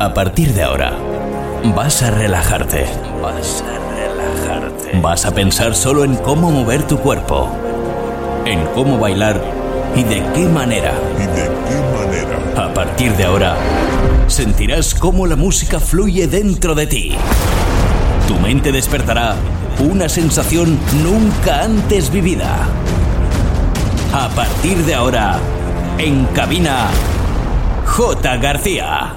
A partir de ahora, vas a relajarte. Vas a relajarte. Vas a pensar solo en cómo mover tu cuerpo, en cómo bailar y de qué manera. A partir de ahora, sentirás cómo la música fluye dentro de ti. Tu mente despertará una sensación nunca antes vivida. A partir de ahora, en cabina, J. García.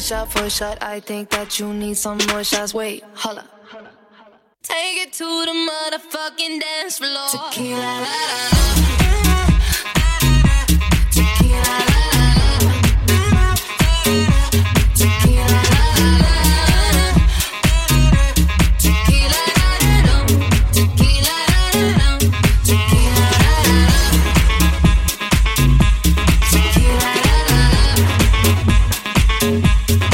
shot for shot. I think that you need some more shots. Wait, holla. Take it to the motherfucking dance floor. Tequila, la, la, la. Tequila, la, la, la. Tequila, la, la, la. Tequila, la, la, la. Tequila, la, la, la. Tequila, la, la, la. Tequila, la, la, la.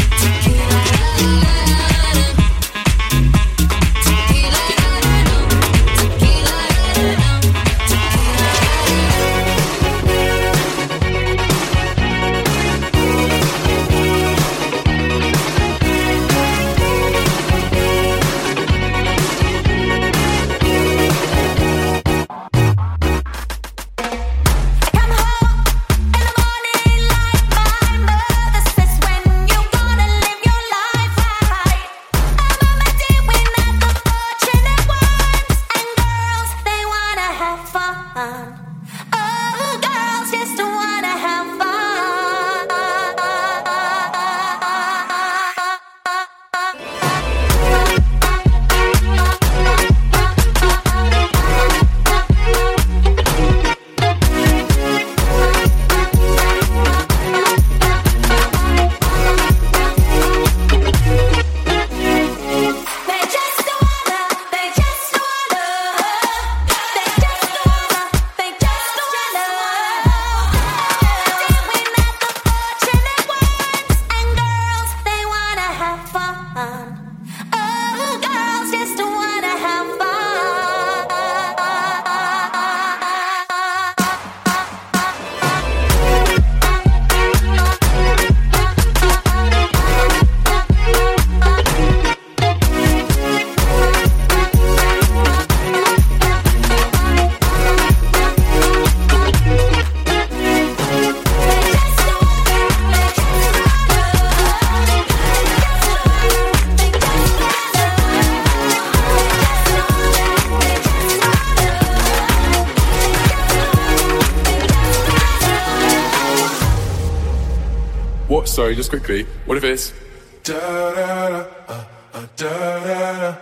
What? Sorry, just quickly. What if it's da da da da da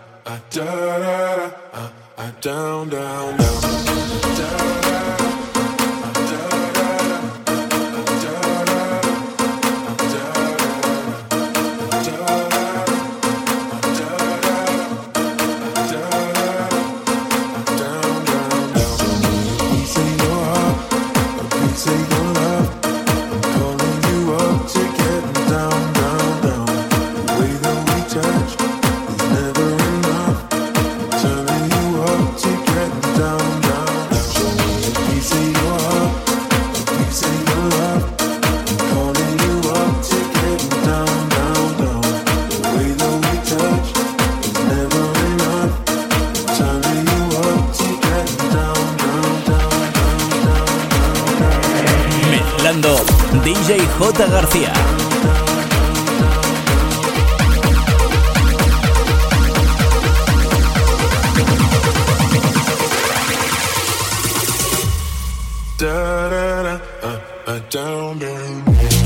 da da down down down. DJ J. García. Da da da down down.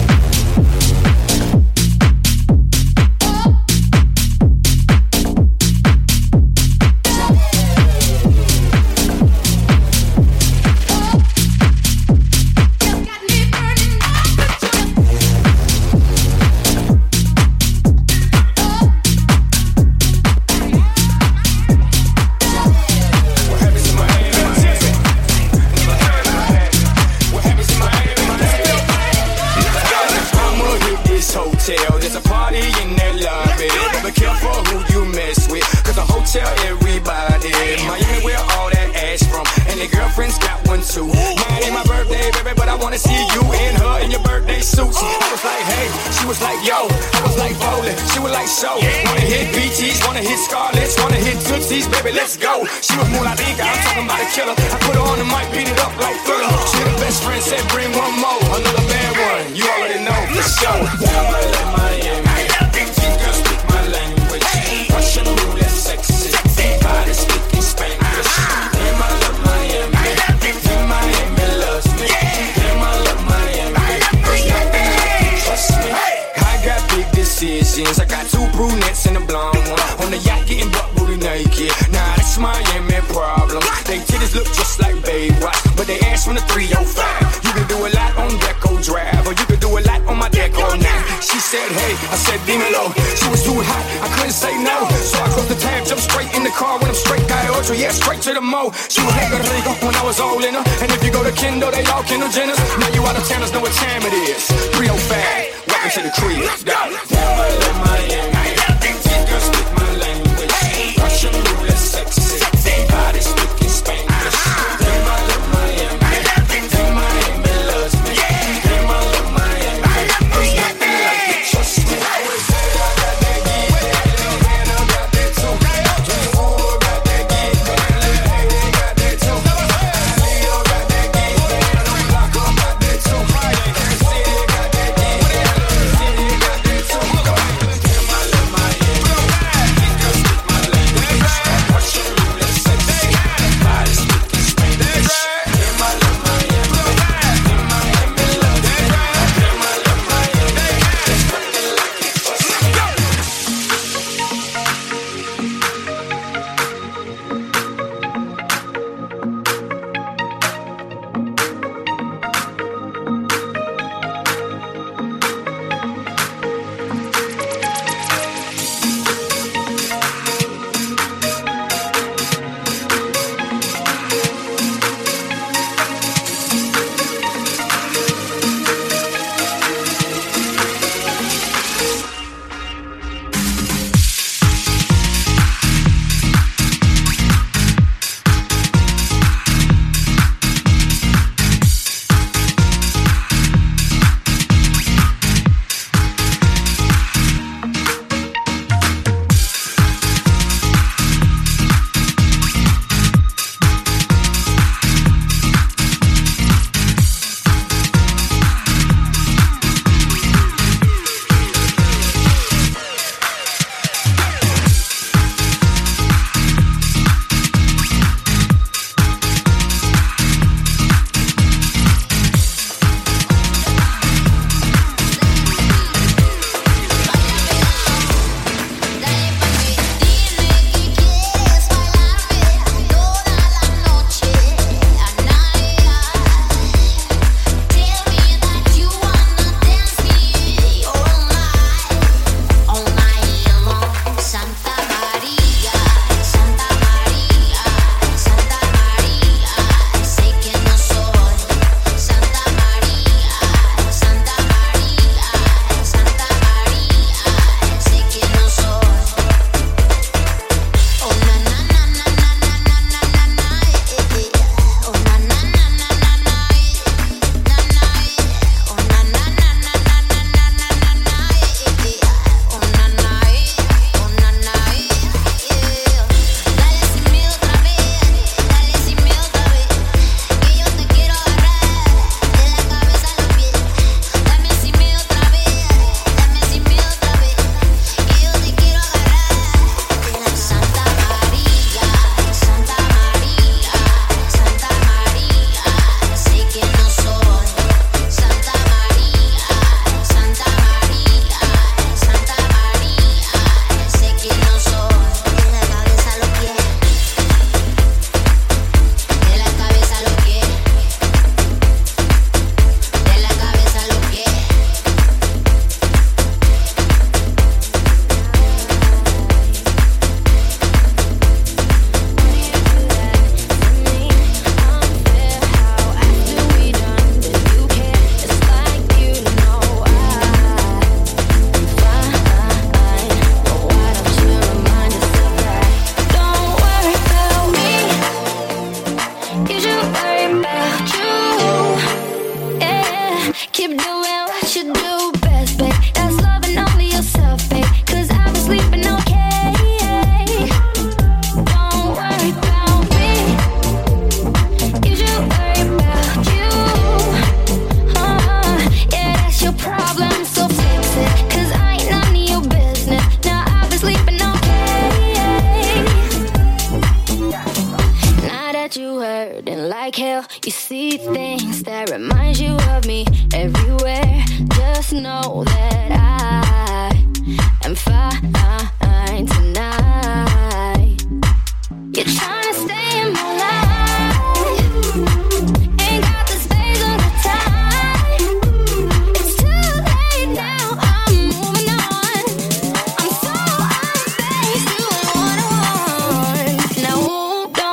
She was more like Ika, I'm talking about a killer. I put her on the mic, beat it up like Thriller. She the best friend, said bring one more. Another bad one, you already know for sure. Miami, these girls speak my language. Russian roulette, sexy, body speaking Spanish. Damn, I love Miami. Damn, Miami loves me. Damn, I love Miami. There's nothing that can trust me. I got big Central, yeah, straight to the mo. She was nigga Rico when I was all in her. And if you go to Kendall, they all Kendall Jenners. Now you out of towners know what time it is. 305, welcome to the crib. Miami, girls speak my language. Russian roulette, sexy. Body speaking Spanish. Damn, I love Miami. Damn, Miami loves me. Damn, I love Miami. There's nothing like it, trust me. I always said I got that geek, and I got that too. Junior got that geek, and they got that too. Leo got that geek, and Blanco got that too. City got that geek, and City got that too. Damn, I love Miami. Girls speak my language. Russian roulette, sexy. Body speaking Spanish. Damn, I love Miami. Damn, Miami loves me. Damn, I love Miami. There's nothing like it, trust me. like hell. You see things that remind you of me everywhere. Just know that I am fine tonight. You're trying to stay in my life. Ain't got the space or the time. It's too late now, I'm moving on. I'm so unfazed, doing what I want. Now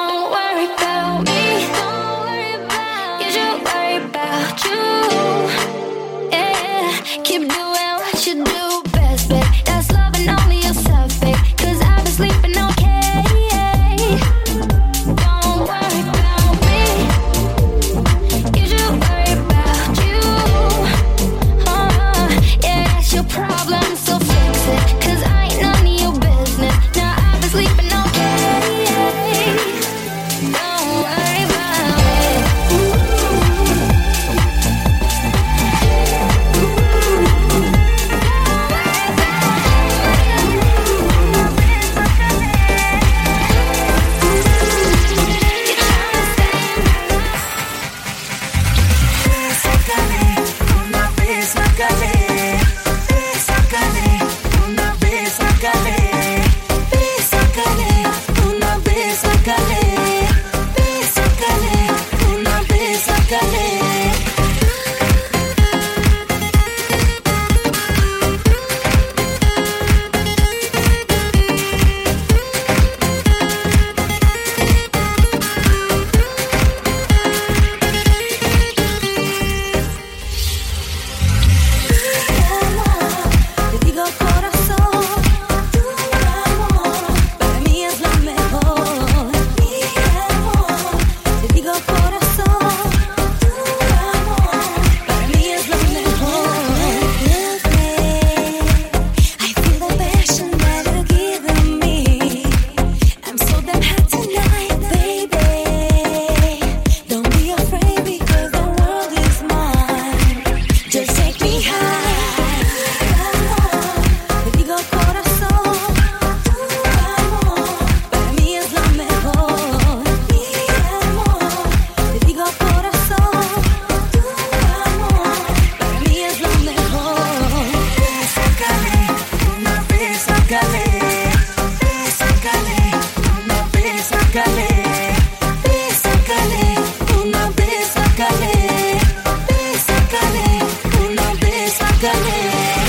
sácale, sácale, una vez sácale, sácale, una vez sácale.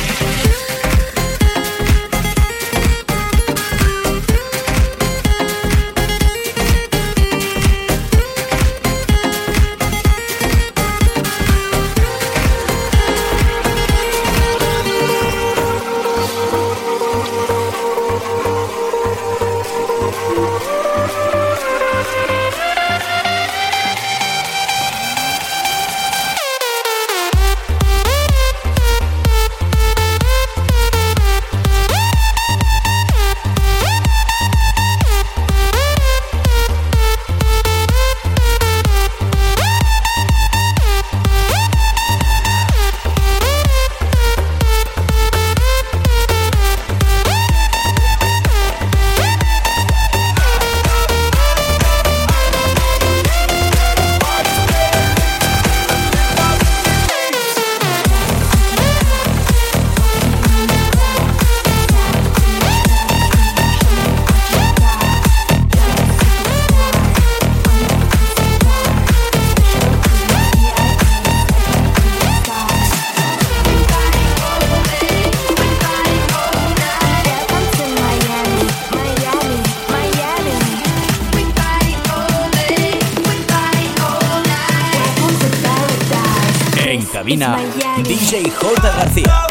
Cabina DJ J. García.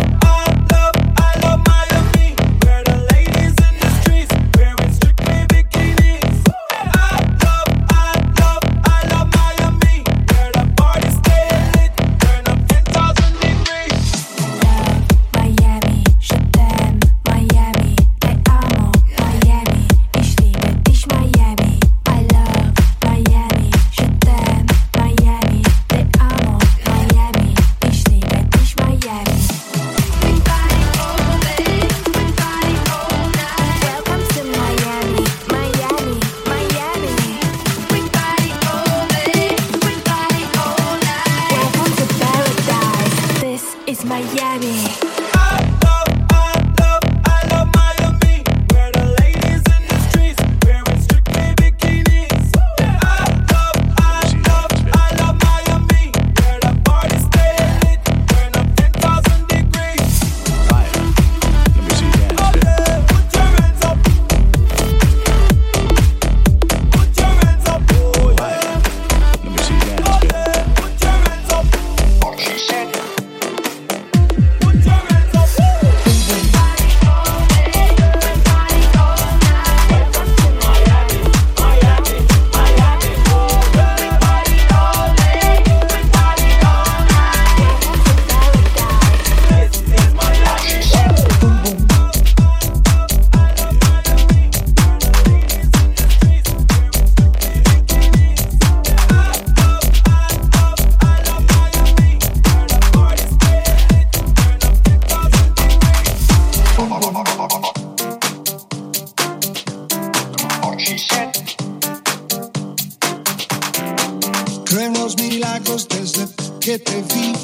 Creo en los milagros desde que te vi.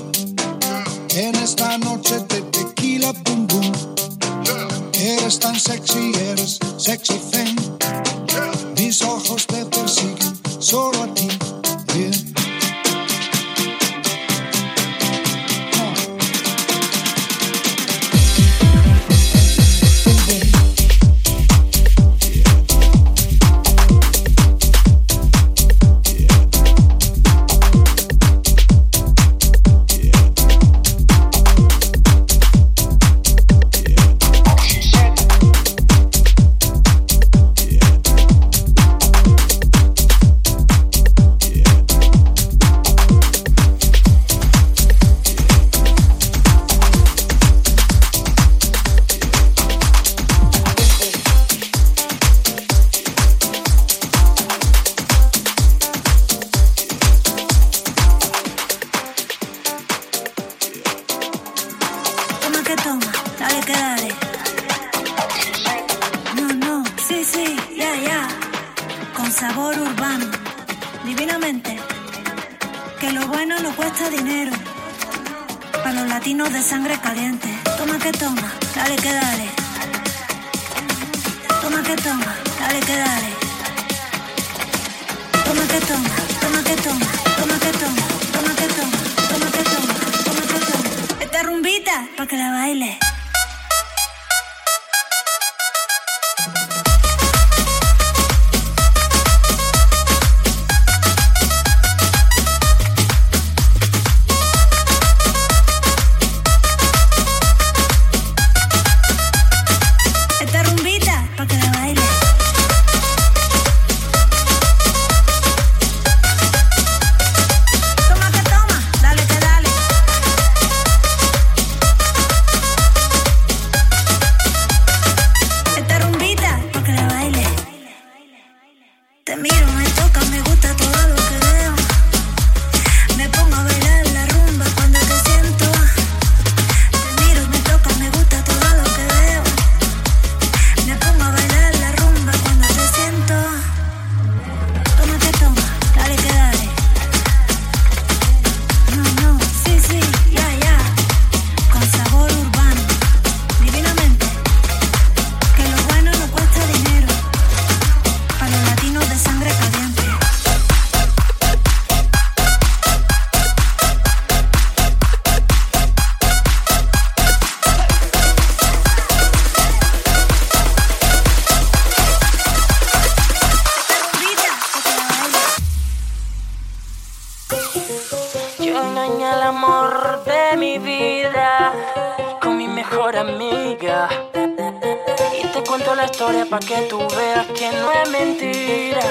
En esta noche de tequila, boom, boom. Eres tan sexy, eres sexy thing. Mis ojos te persiguen solo a ti. Yeah. De sangre caliente. Toma que toma, dale que dale. Toma que toma, dale que dale. que la baile. Esta rumbita, pa' que la baile. Toma que toma, dale que dale. Esta rumbita, pa' que la baile. Te miro, me toca, me gusta todo lo que veo. Me pongo a bailar la rumba cuando te siento. Te miro, me toca, me gusta todo lo que veo. Me pongo a bailar la rumba cuando te siento. Toma que toma, dale que dale. No, sí, sí, ya. Con sabor urbano, divinamente. Que lo bueno no cuesta dinero. Para los latinos de sangre caliente. Yo engañé al amor de mi vida con mi mejor amiga. Y te cuento la historia pa' que tú veas que no es mentira.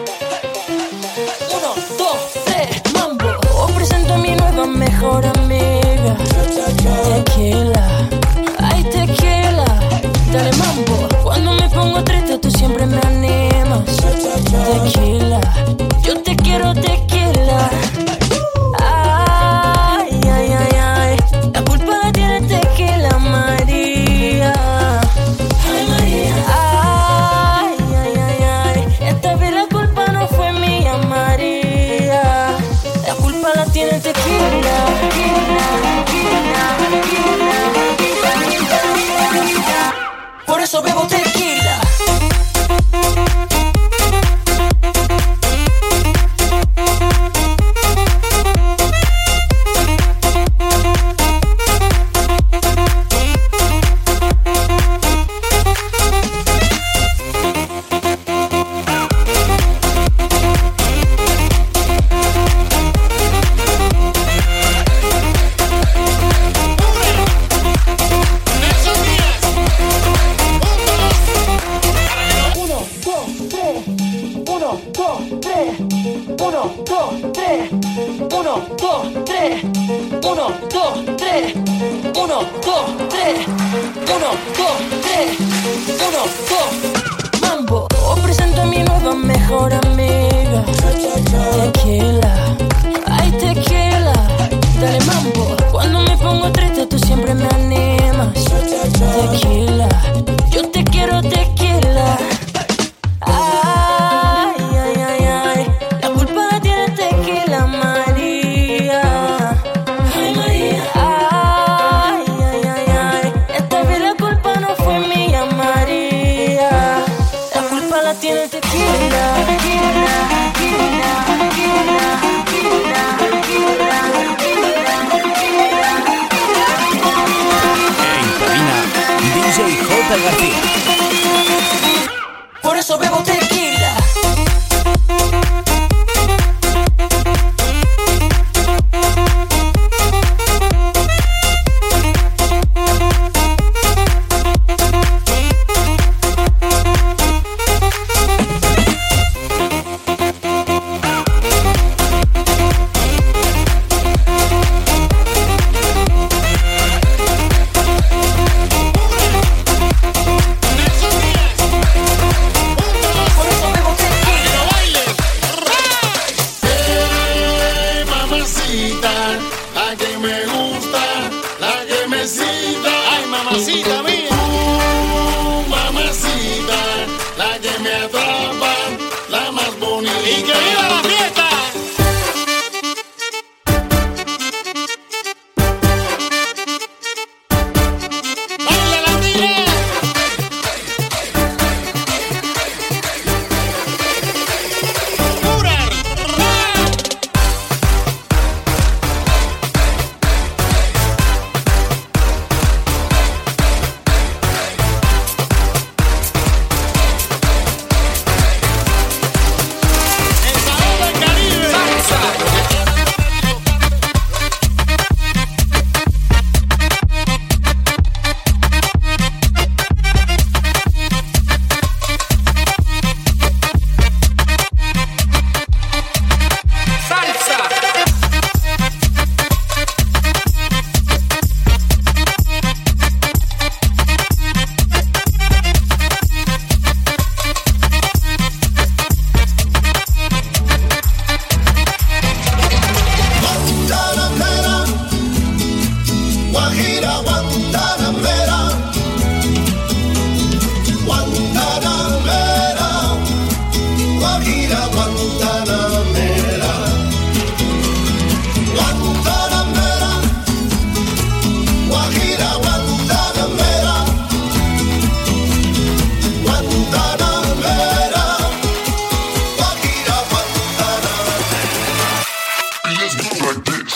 1, 2, 3, mambo. Os presento a mi nueva mejor amiga. Tequila, ay tequila, dale mambo. Cuando me pongo triste tú siempre me animas. Tequila, yo te quiero tequila. Ay, ay, ay, ay, la culpa la tiene tequila, María. Ay, María. Ay, ay, ay, ay, esta vez la culpa no fue mía, María. La culpa la tiene tequila, tequila, tequila, tequila, tequila. Por eso bebo tequila. Mambo, os presento a mi nueva mejor amiga. Tequila, ay tequila, dale mambo. Cuando me pongo triste tú siempre me animas. Tequila, yo te quiero tequila. Ay, ay, ay, ay, la culpa la tiene tequila, María. Ay, María. Ay, ay, ay, ay, esta vez la culpa no fue mía, María. La culpa la tiene tequila, tequila, tequila, tequila, tequila, tequila, tequila, tequila. En cabina, DJ J. García. Por eso bebo tequila. Guajira Guantanamera, Guantanamera, Guajira Guantanamera, Guantanamera, Guajira Guantanamera. It just goes like this.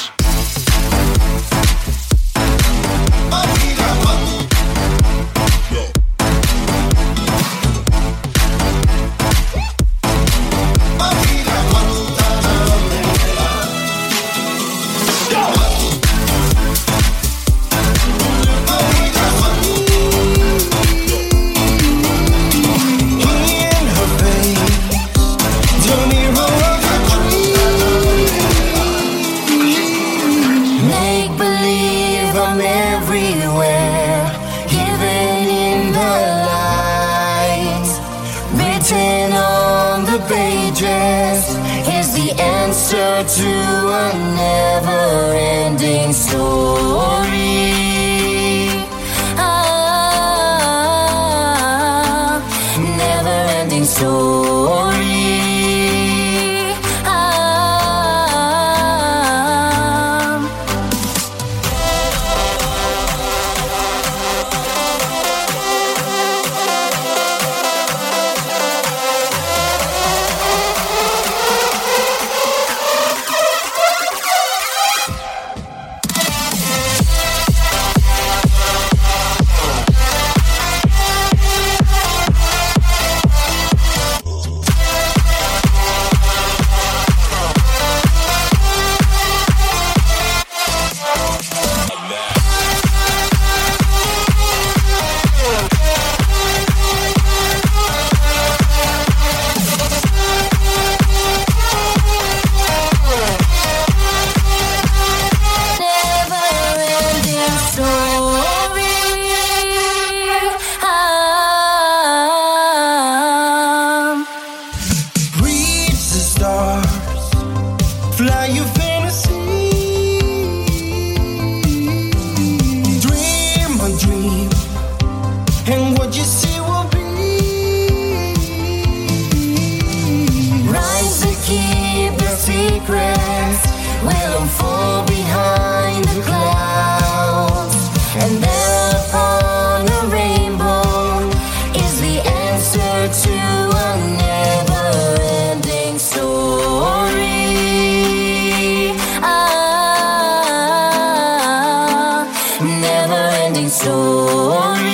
Make believe I'm everywhere, living in the light. Written on the pages is the answer to a never-ending story. Never-ending story. Never-ending story. Reach the stars, fly your fantasy. Dream a dream, and what you see will be. Rise to keep the secrets will unfold behind the clouds, and there upon a rainbow is the answer to a never-ending story. Never-ending story.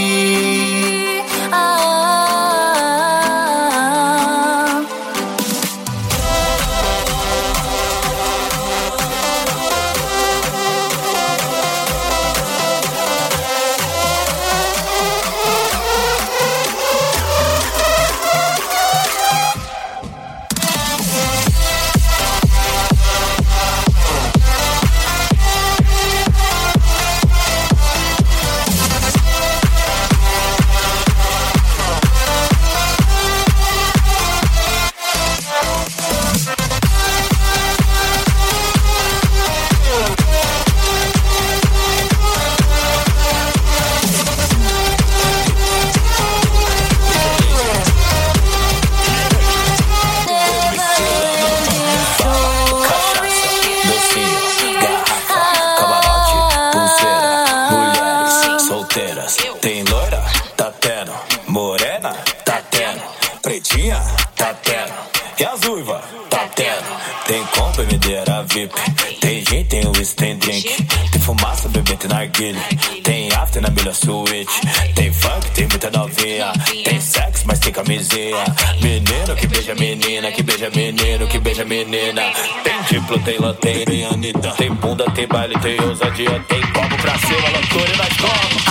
Tem loira? Tá tendo. Morena? Tá tendo. Pretinha? Tá tendo. E as uivas? Tá tendo. Tem compra, medeira VIP. Tem gin, tem whisky, tem drink. Tem fumaça, bebê, tem narguilha. Tem after na melhor suíte. Tem funk, tem muita novinha. Tem sexo, mas tem camisinha. Menino que beija menina, que beija menino, que beija menina. Tem diplo, tem lanterna, tem Anitta. Tem bunda, tem baile, tem ousadia. Tem copo pra cima, loucura e nós como.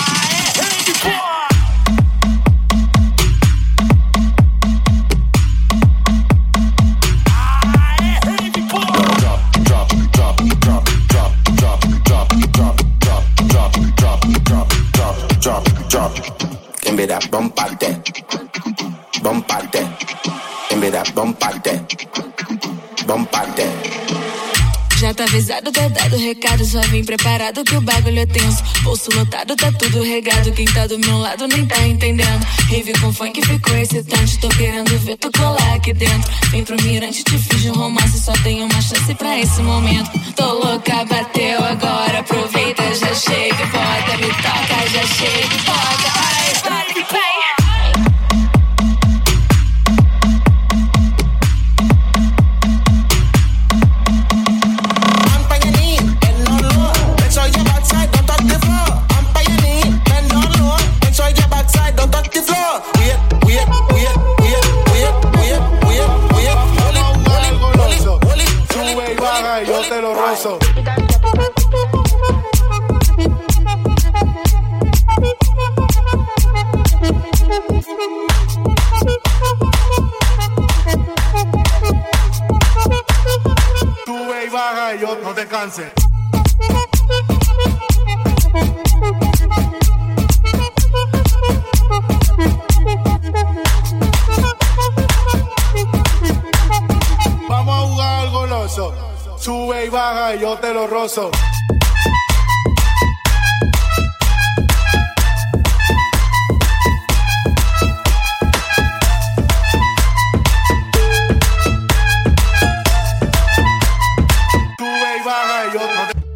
Give me that bump out there, bump out there. Give me that bump out there, bump out there. Já tá avisado, tá dado recado. Só vim preparado que o bagulho é tenso. Bolso lotado, tá tudo regado. Quem tá do meu lado nem tá entendendo. Rave com funk ficou excitante. Tô querendo ver tu colar aqui dentro. Vem pro mirante, te fiz um romance. Só tenho uma chance pra esse momento. Tô louca, bateu agora. Aproveita, já chega e bota. Me toca, já chega e bota. Ai, vai, vai. Sube y baja y yo no te canses. Vamos a jugar al goloso. Sube y baja y yo te lo rozo. Sube y baja y yo no te...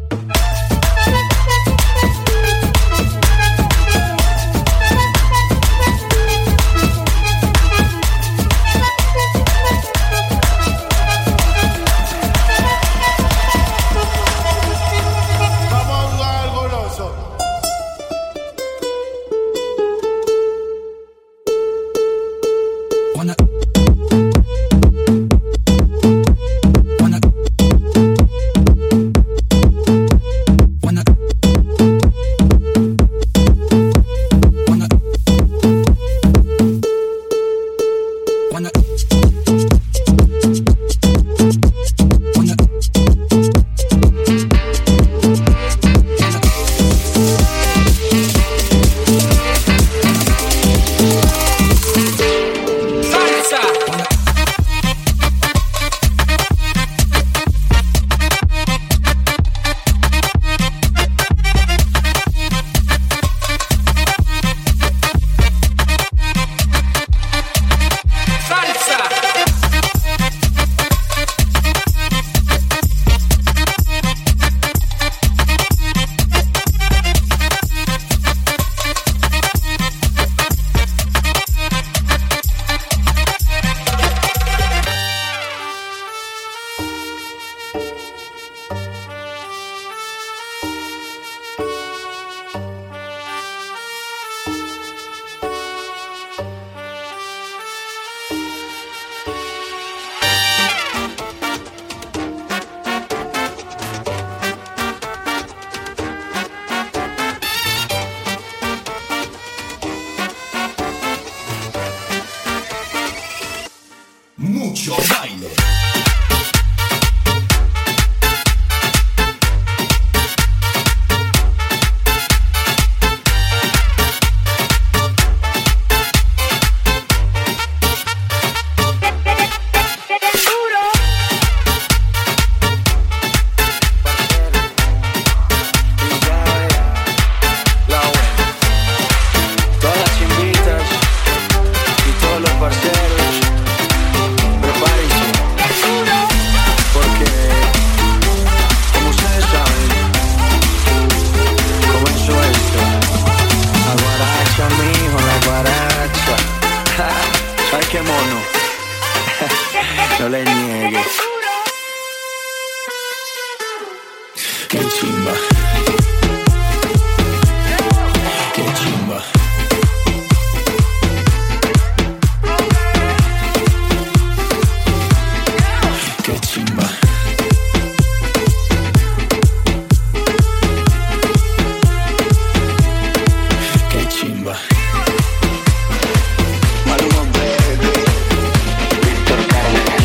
Mucho baile. No le niegues. Qué chimba. Qué chimba. Qué chimba. Qué chimba. Maluma Baby, Víctor Carles.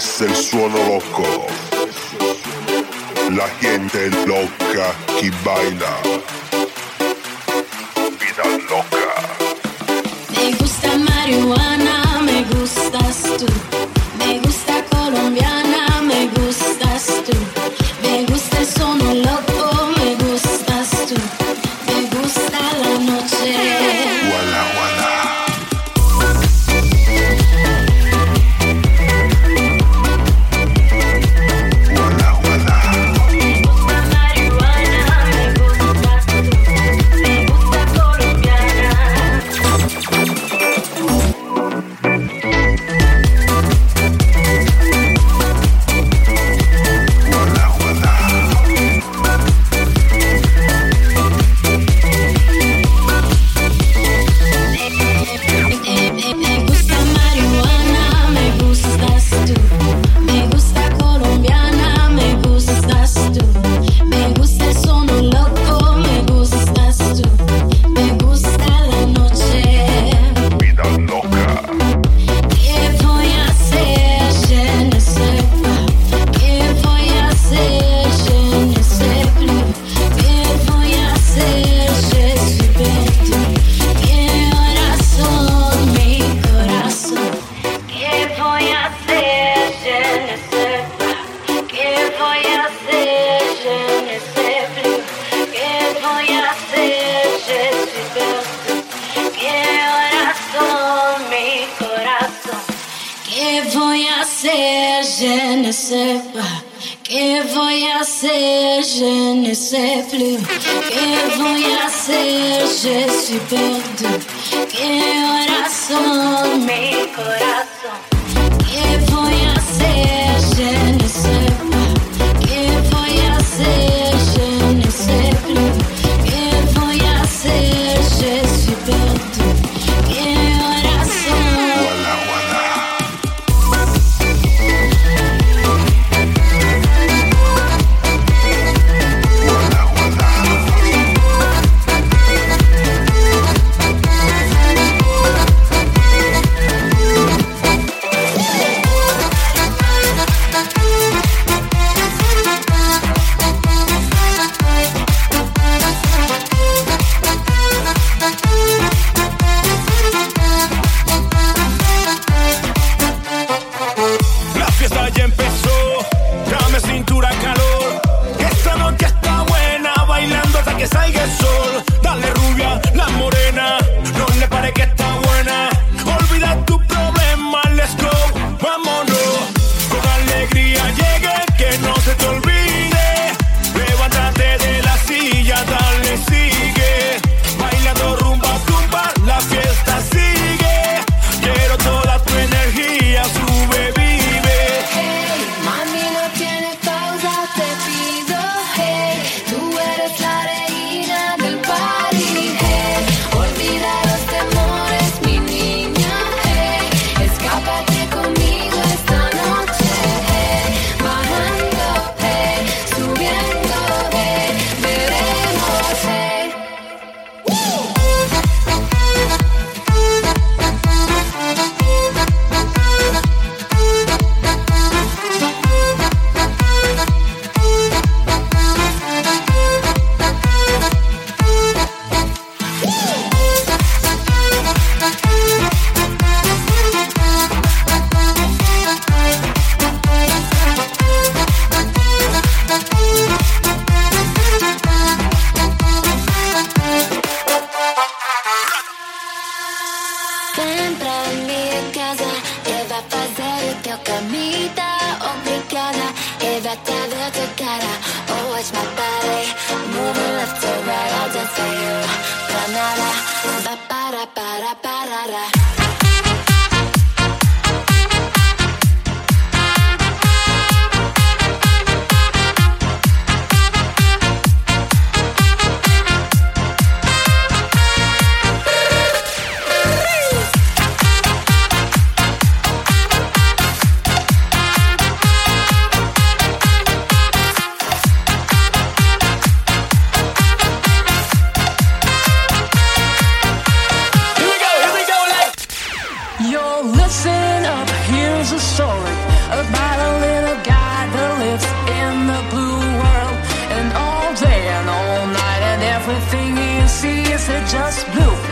es el suono loco. La gente loca que baila. Vida loca. Me gusta marihuana, me gustas tú. Me gusta colombiana, me gustas tú. Me gusta el sono loco, me gustas tú. Me gusta la noche. Wala, wala.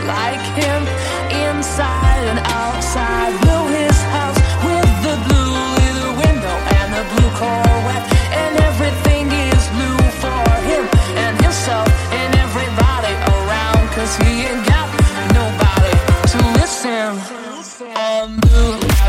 like him, inside and outside. Blew his house with the blue little window and the blue Corvette, and everything is blue for him and himself and everybody around, 'cause he ain't got nobody to listen. I'm blue.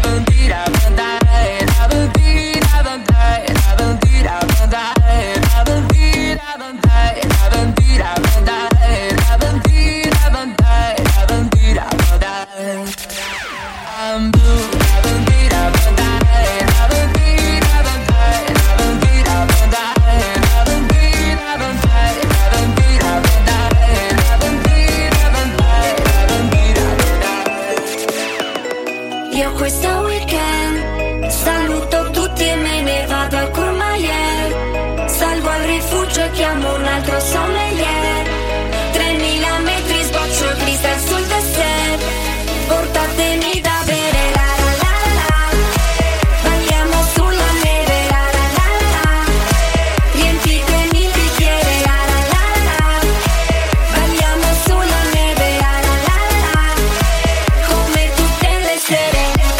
Io questo weekend saluto tutti e me ne vado a Courmayeur. Salgo al rifugio e chiamo un altro sommelier. 3000 metri sboccio cristal sul dessert. Portatemi da bere, la la la la. Balliamo sulla neve, la la la la. Riempitemi il bicchiere, la la la la. Balliamo sulla neve, la la la la. Come tutte le sere.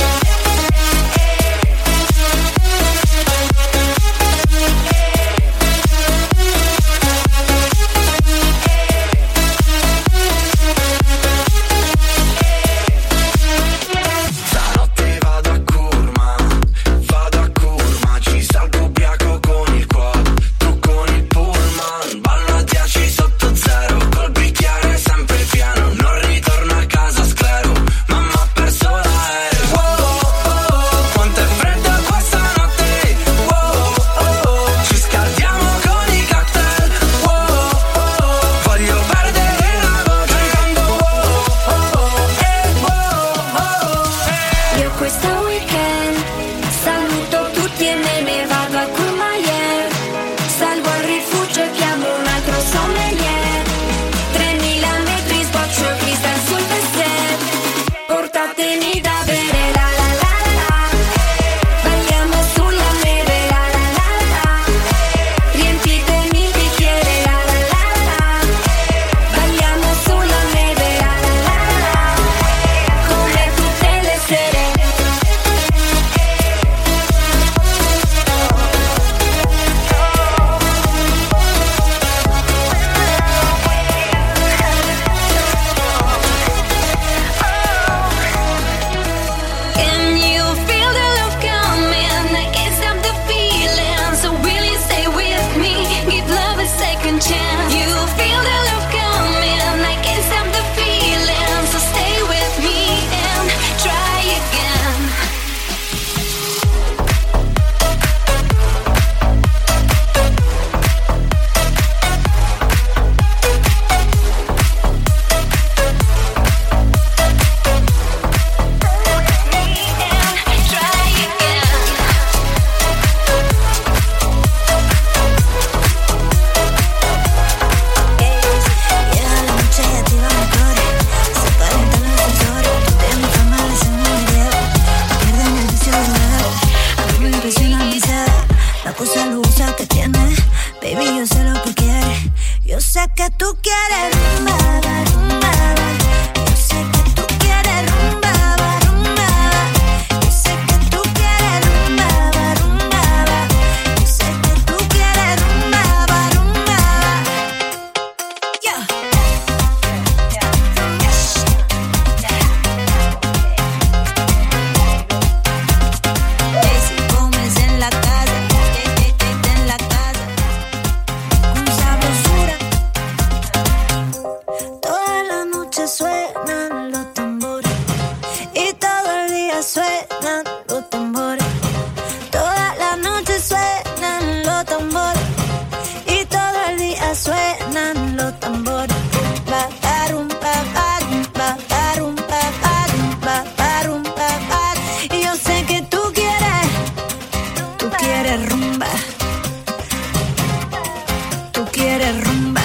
Questo weekend saluto tutti e me ne vado a Courmayeur. Salgo al rifugio e chiamo un altro sommelier. 3000 metri sboccio cristal sul dessert. Portatemi da bere, la la la la. Balliamo sulla neve, la la la la. Riempitemi il bicchiere, la la la la. Balliamo sulla neve, la la la la. Come tutte le sere. Can you feel the love coming? I can't stop the feeling. So will you stay with me? Give love a second chance. You feel the love coming? I can't stop the feeling. So stay with me and try again. Llega la noche y activa motores. Se calientan los sensores. Tu tema fama le hacen un video. Pierden el vicio de beber. A mí me impresiona mi sed. La cosa lujosa que tienes. Baby, yo sé lo que quieres. Yo sé que tú quieres rumba, rumba. Yo sé que tú quieres rumba, rumba. Yo sé que tú quieres rumba, rumba. Yo sé que tú quieres rumba, rumba. Yeah. Daisy Gómez en la casa, en la casa, con sabrosura. Toda la noche suenan los tambores y todo el día suenan los tambores. Toda la noche suenan los tambores y todo el día suenan los tambores. Ba, barum, ba, barum, ba, barum, ba, barum, ba, barum, ba, barum. Y yo sé que tú quieres rumba. Tú quieres rumba.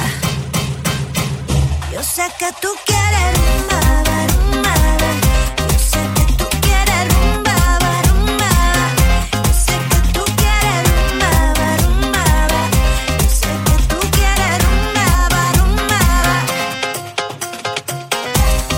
Yo sé que tú quieres rumba, rumba. Yo sé que tú quieres rumba, rumba. Yo sé que tú quieres rumba, rumba. Yo sé que tú quieres rumba, rumba.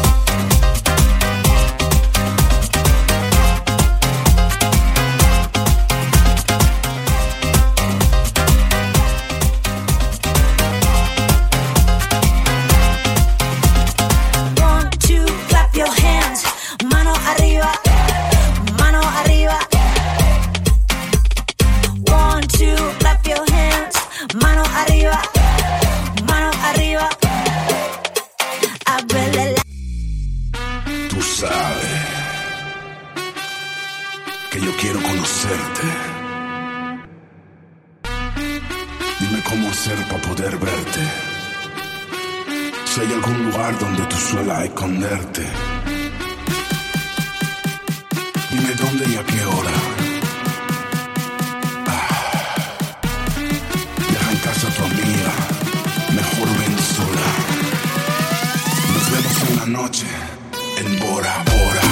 verte. Dime cómo hacer para poder verte. Si hay algún lugar donde tú suelas esconderte. Dime dónde y a qué hora. Deja en casa a tu amiga. Mejor ven sola. Nos vemos en la noche. En Bora Bora.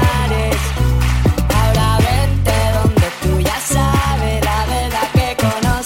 Ahora vente donde tú ya sabes la verdad que conozco.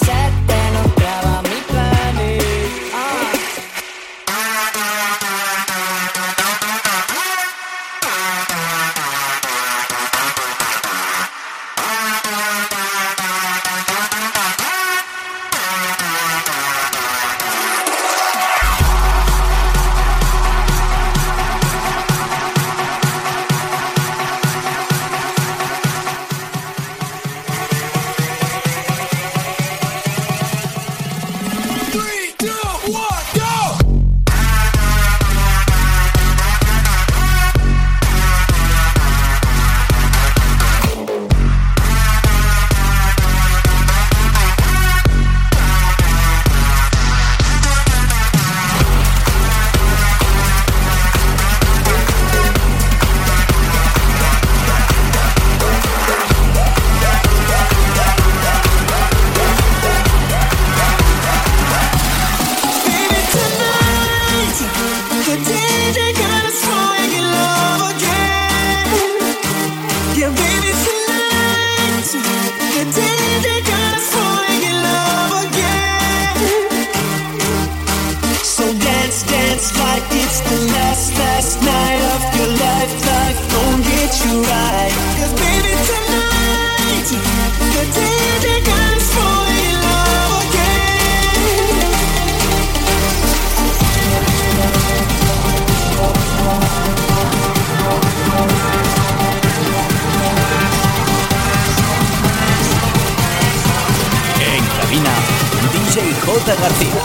J. García.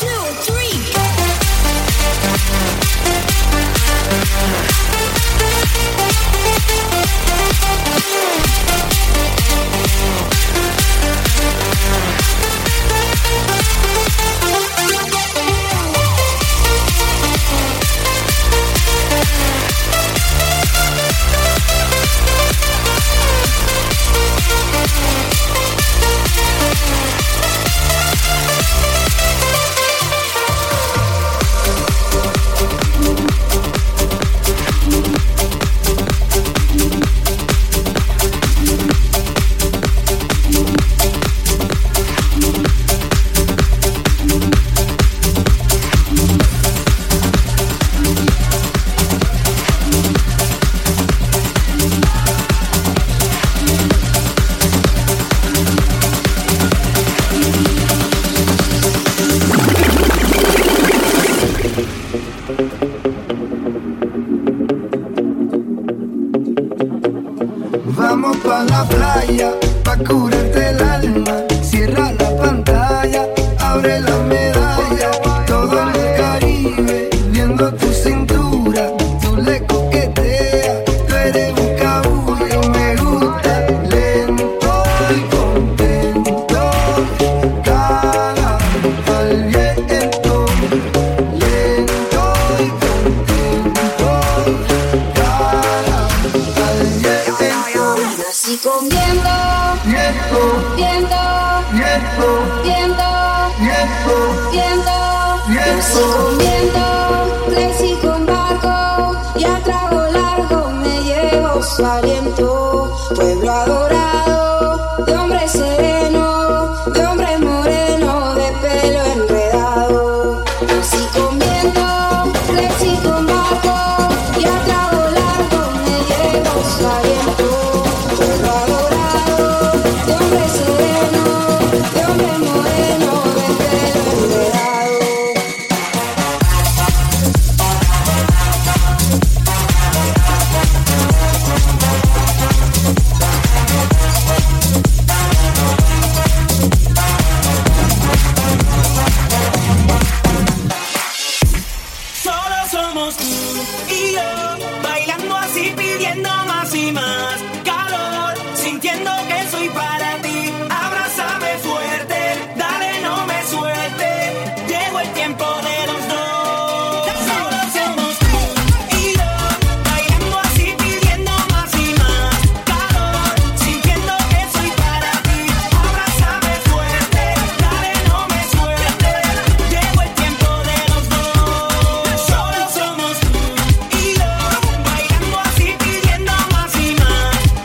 Vamos pa' la playa, pa' curarte el alma. Cierra la pantalla, abre la medalla. Todo en el Caribe, viendo tu cintura. Tú le coqueteas, tú eres un cabullo. Me gusta lento y contento. Cada al viento, lento y contento. Cada al viento. Nací comiendo, viendo, nací comiendo, crecí con barco y a trago largo me llevo su aliento. Pueblo adorado, de hombre sereno, de hombre moreno, de pelo enredado. Nací comiendo, crecí con barco y a trago largo me llevo su aliento. Pueblo adorado, de hombre sereno, de hombre moreno, de pelo enredado. Solo somos tú y yo, bailando así, pidiendo más y más calor, sintiendo que soy para ti. Abrázame fuerte, dale, no me suelte. Llegó el tiempo de los dos. Solo somos tú y yo, bailando así, pidiendo más y más calor, sintiendo que soy para ti. Abrázame fuerte, dale, no me suelte. Llegó el tiempo de los dos. Solo somos tú y yo, bailando así, pidiendo más y más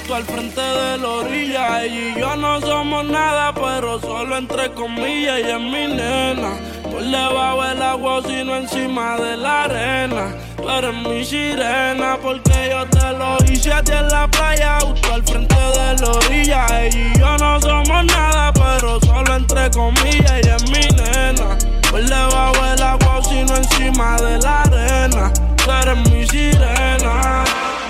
justo al frente de la orilla. Ella y yo no somos nada, pero solo entre comillas. Ella es mi nena, por debajo del agua o si no encima de la arena. Tú eres mi sirena, porque yo te lo hice a ti en la playa, justo al frente de la orilla. Ella y yo no somos nada, pero solo entre comillas. Ella es mi nena, por debajo del agua o si no encima de la arena. Tú eres mi sirena.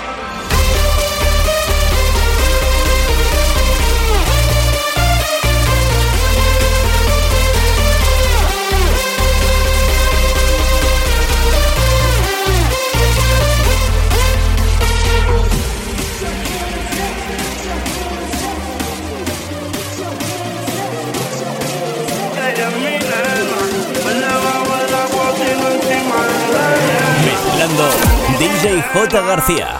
Mezclando DJ J. García.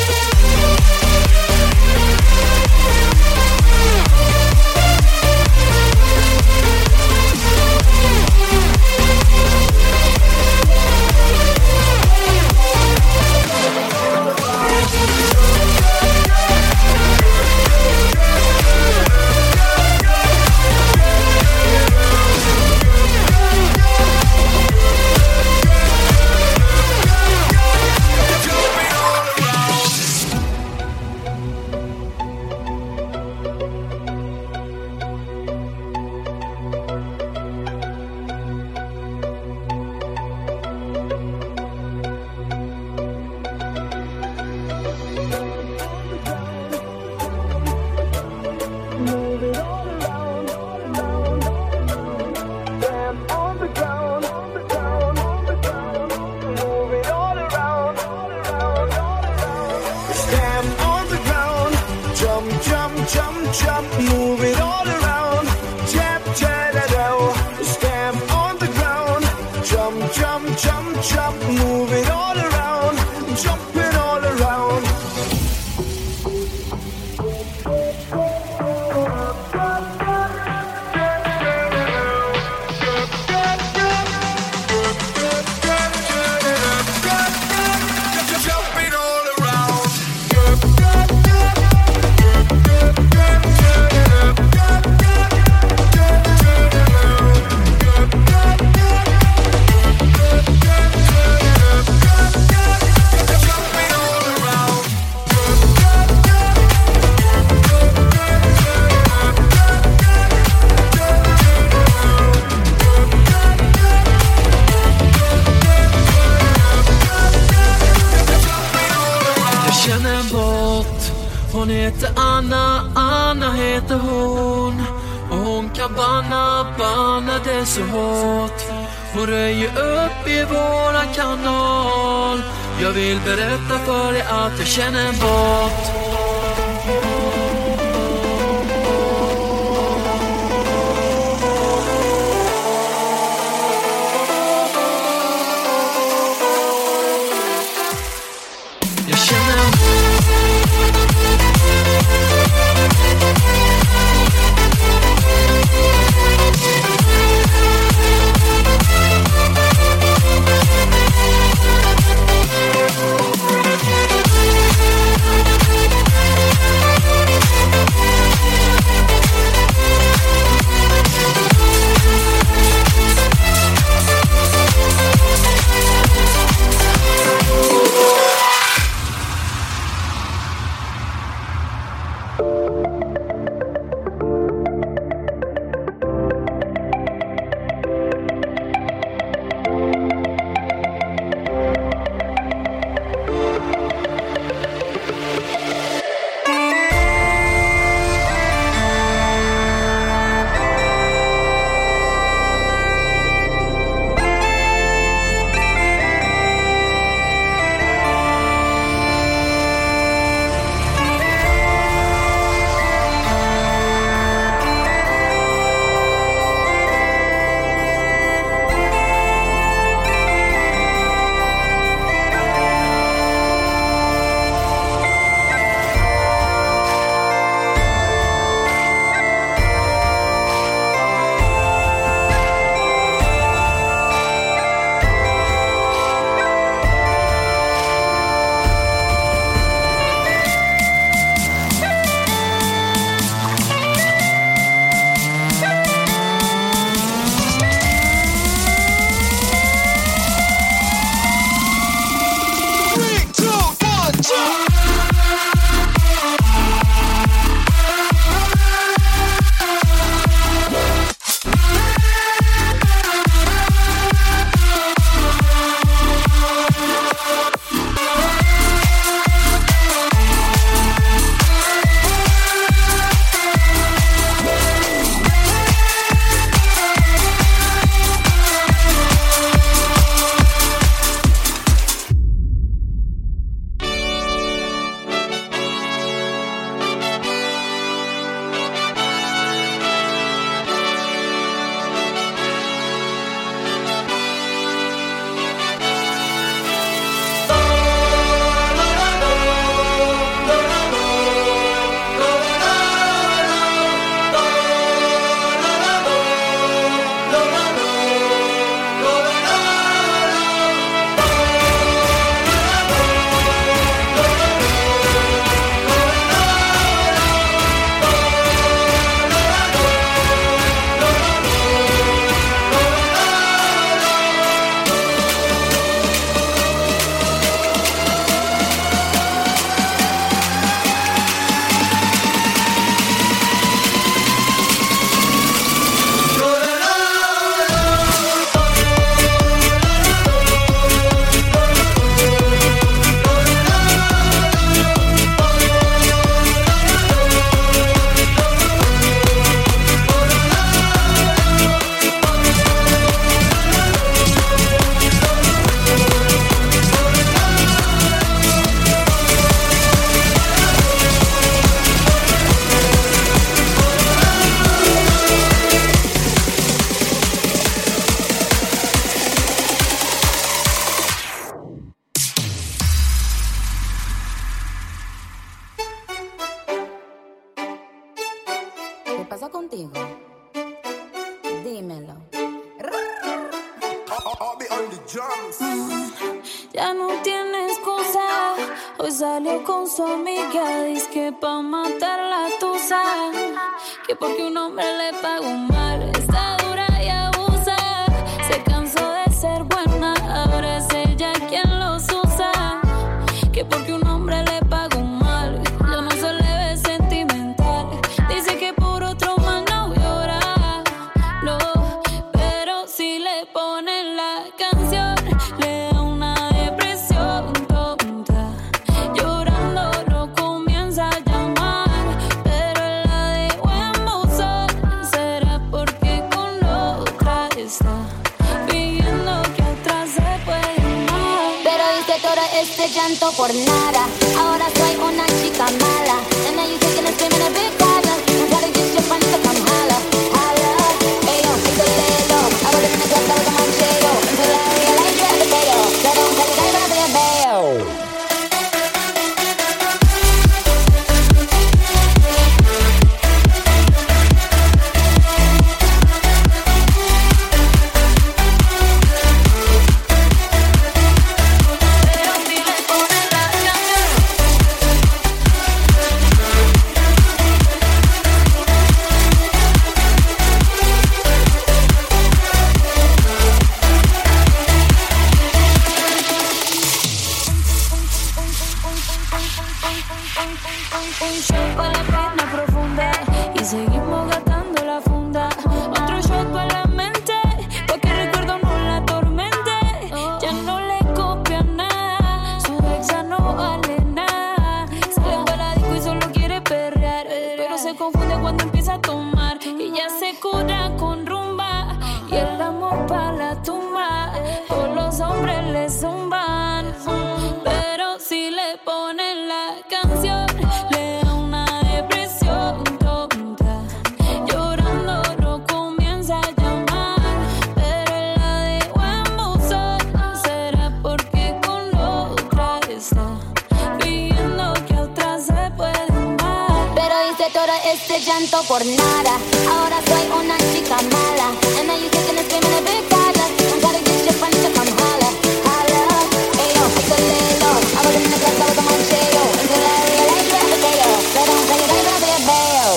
Hon heter Anna, Anna heter hon. Och hon kan banna det så hårt. Hon röjer upp i våran kanal. Jag vill berätta för dig att jag känner en båt. Ya no tiene excusa. Hoy salió con su amiga. Dice que pa' matar la tusa. Que porque un hombre le pagó mal. Está dura y abusa. Se cansó de ser buena. Ahora es ella quien los usa. Que porque un hombre le pagó mal. Ya no se le ve sentimental. Dice que por otro mal no llora. No, pero si le ponen la canción, le da una depresión tonta. Llorando lo comienza a llamar, pero él la dejó en buzón. Será porque con otra está fingiendo que atrás se puede amar. Pero hice todo este llanto por nada. Ahora soy una chica mala. And now you taking a scream in a big problem. I'm trying to get your friends to come holla, holla. Ayo, hice lelo. I was in the club, I was a manchego. Until I realized you're the potato. So don't tell your guy, but I'll be a bayo. Un shot pa' la pena profunda y seguimos gastando la funda. Otro shot pa' la mente, pa' que el recuerdo no la atormente. Ya no le copia nada, su exa no vale nada. Sale pa' la disco y solo quiere perrear, pero se confunde cuando empieza a tomar. Y ya se cura con rumba y el amor pa' la tumba. Todos los hombres le zumban, pero si le ponen la canción, le da una depresión tonta. Llorando lo comienza a llamar, pero él la dejó en buzón. Será porque con otra está fingiendo que otra se puede amar. Pero hice todo este llanto por nada. Ahora soy una chica mala. And now you taking a scream in a big problem. I'm trying to get your friends to come holla, holla. Ayo, hice lelo. I was in the club, I was a manchego. Until I realized you're the potato. So don't tell your guy, but I'll be a bayo.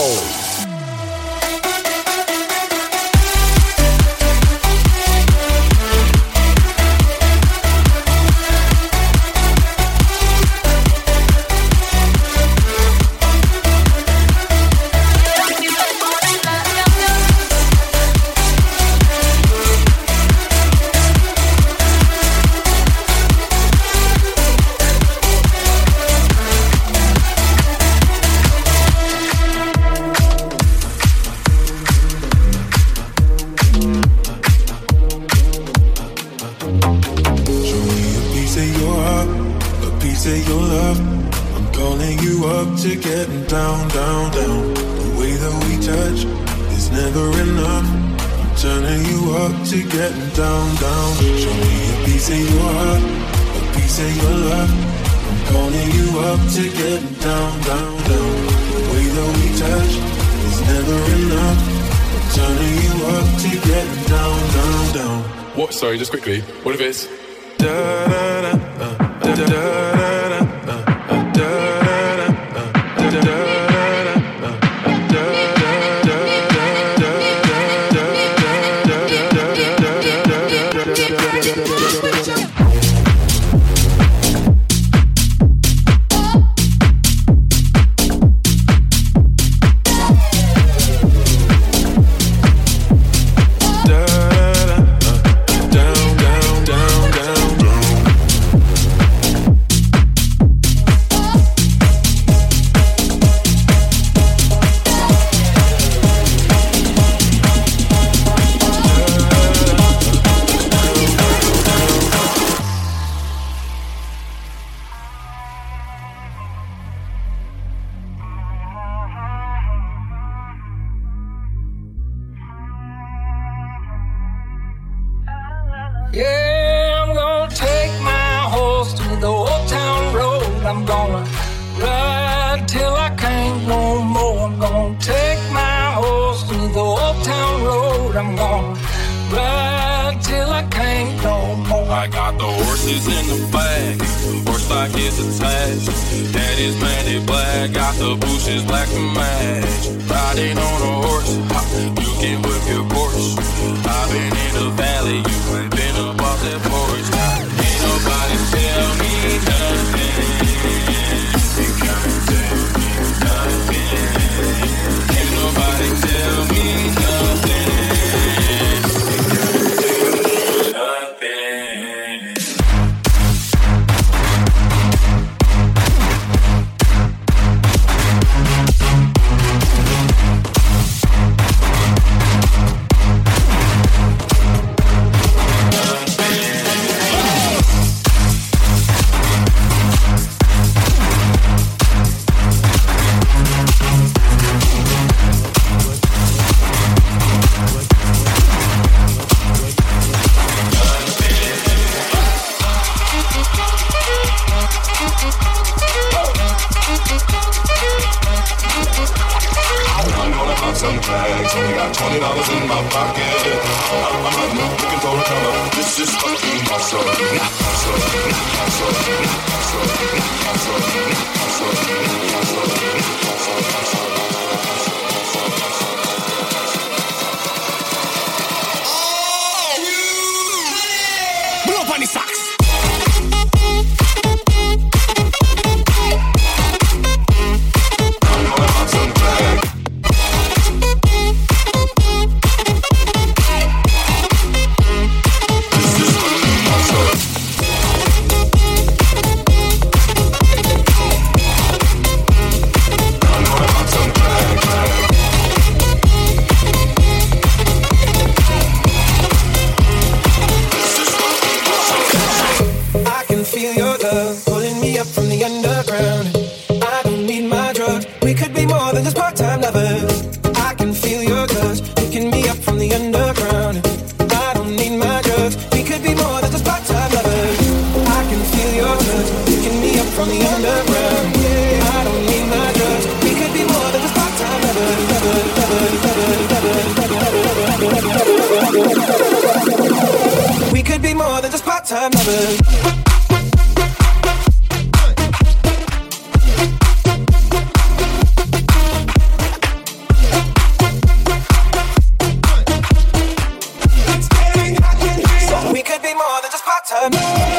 Say your love, I'm calling you up to getting down, down, down. The way that we touch is never enough. I'm turning you up to getting down, down. Show me a piece of your heart, a piece of your love. I'm calling you up to getting down, down, down. The way that we touch is never enough. I'm turning you up to getting down, down, down. What? Sorry, just quickly. What if it's da da da da da da? Yeah, I'm gonna take my horse to the old town road. I'm gonna ride till I can't no more. I'm gonna take my horse to the old town road. I'm gonna ride till I can't no more. I horses in the bag, horse stock is attached. Daddy's Mandy Black, got the bushes black to match. Riding on a horse, you can whip your Porsche. I've been in the valley, you ain't been up off that porch. Ain't nobody tell me nothing. You can't tell me nothing. Can't nobody tell me nothing. Some tags, only got $20 in my pocket. I'm looking for a come up. This is fucking awesome. Blow up on the socks. We could be more than just part-time lovers. We could be more than just part-time lovers.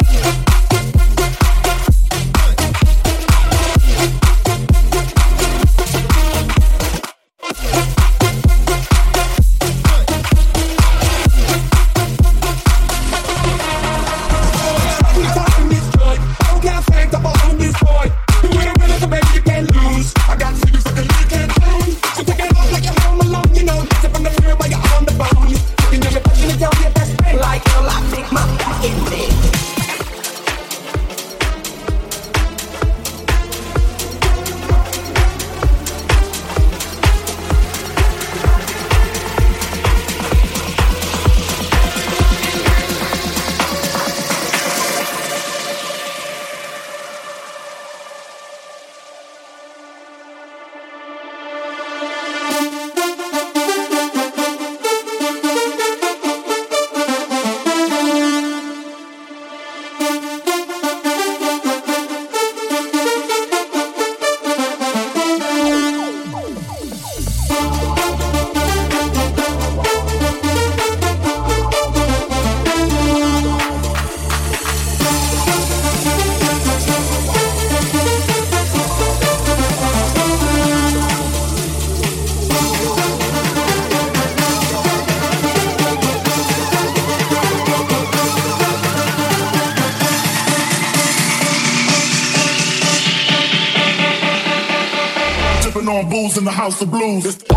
On booze in the house of blues. It's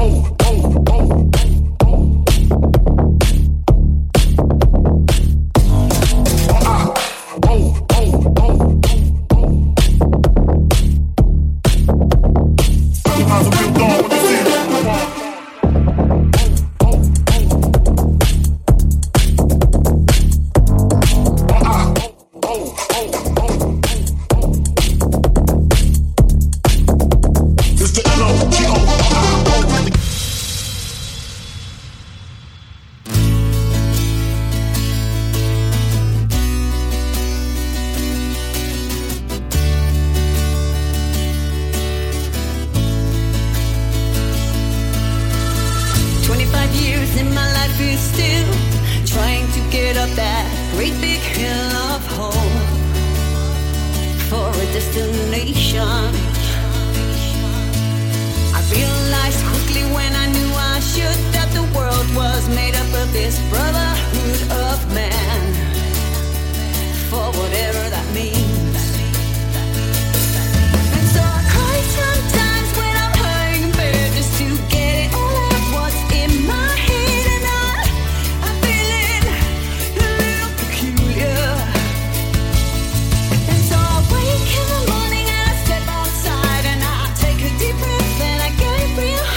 headed up that great big hill of hope for a destination. I realized quickly when I knew I should that the world was made up of this brotherhood of man, for whatever that means. And so I cry sometimes when I'm hurting in bed just to get it all out what's in my head, and I'm feeling a little peculiar. And so I wake in the morning and I step outside and I take a deep breath and I get real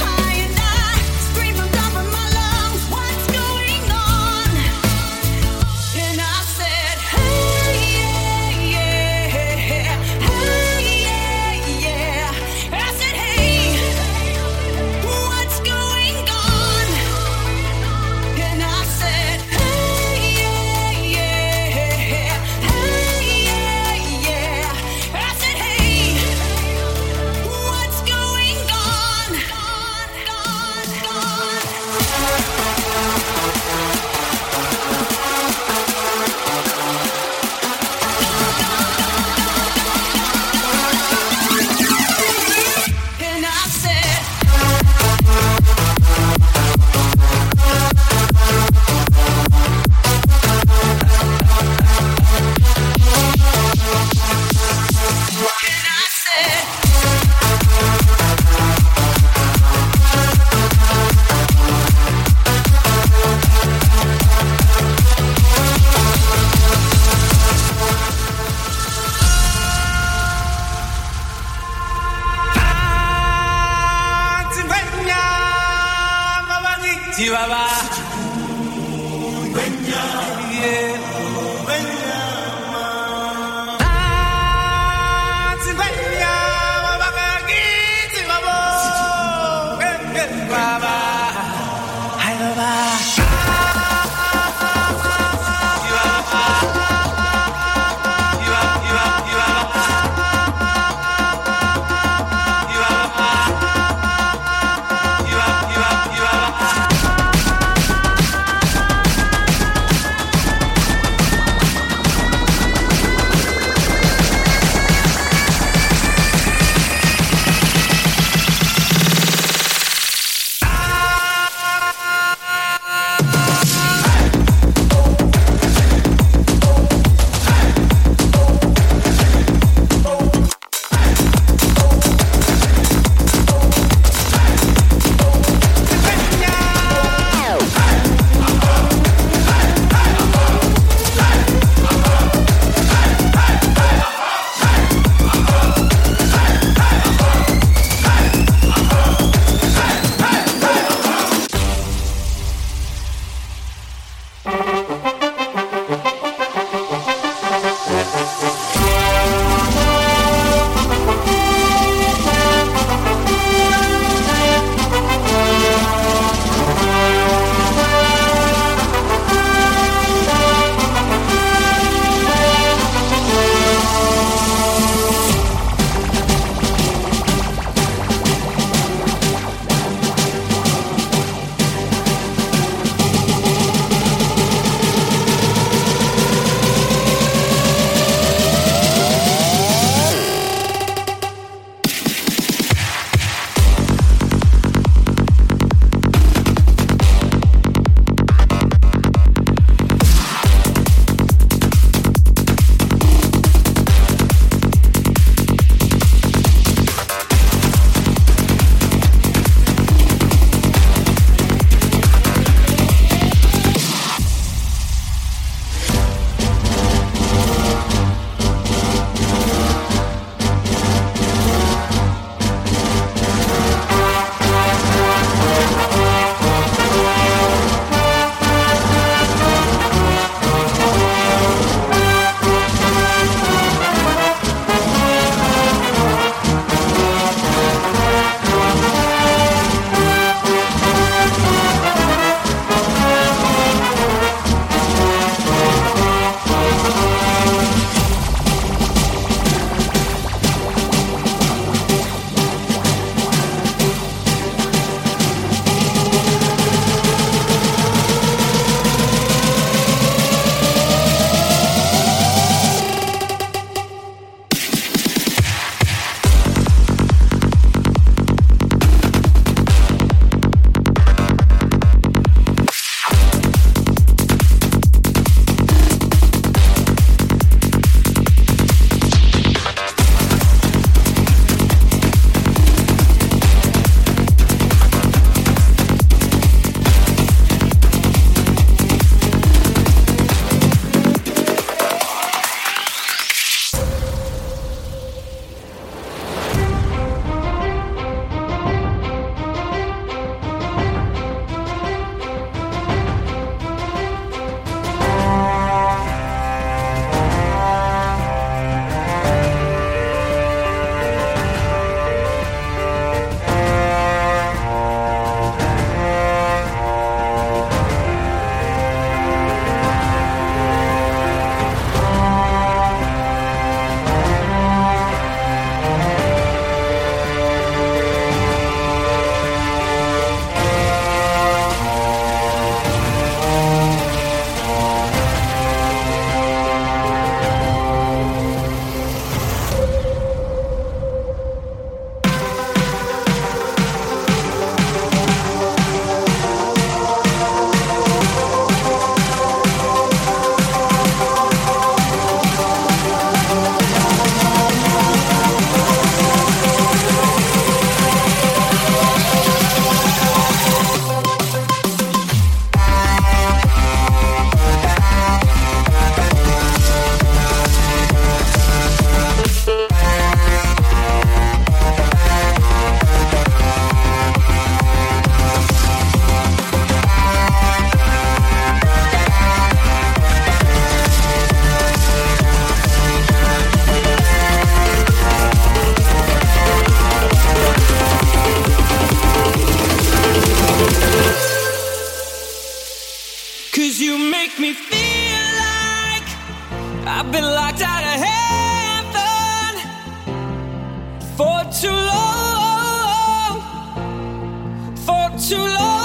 I've been locked out of heaven for too long, for too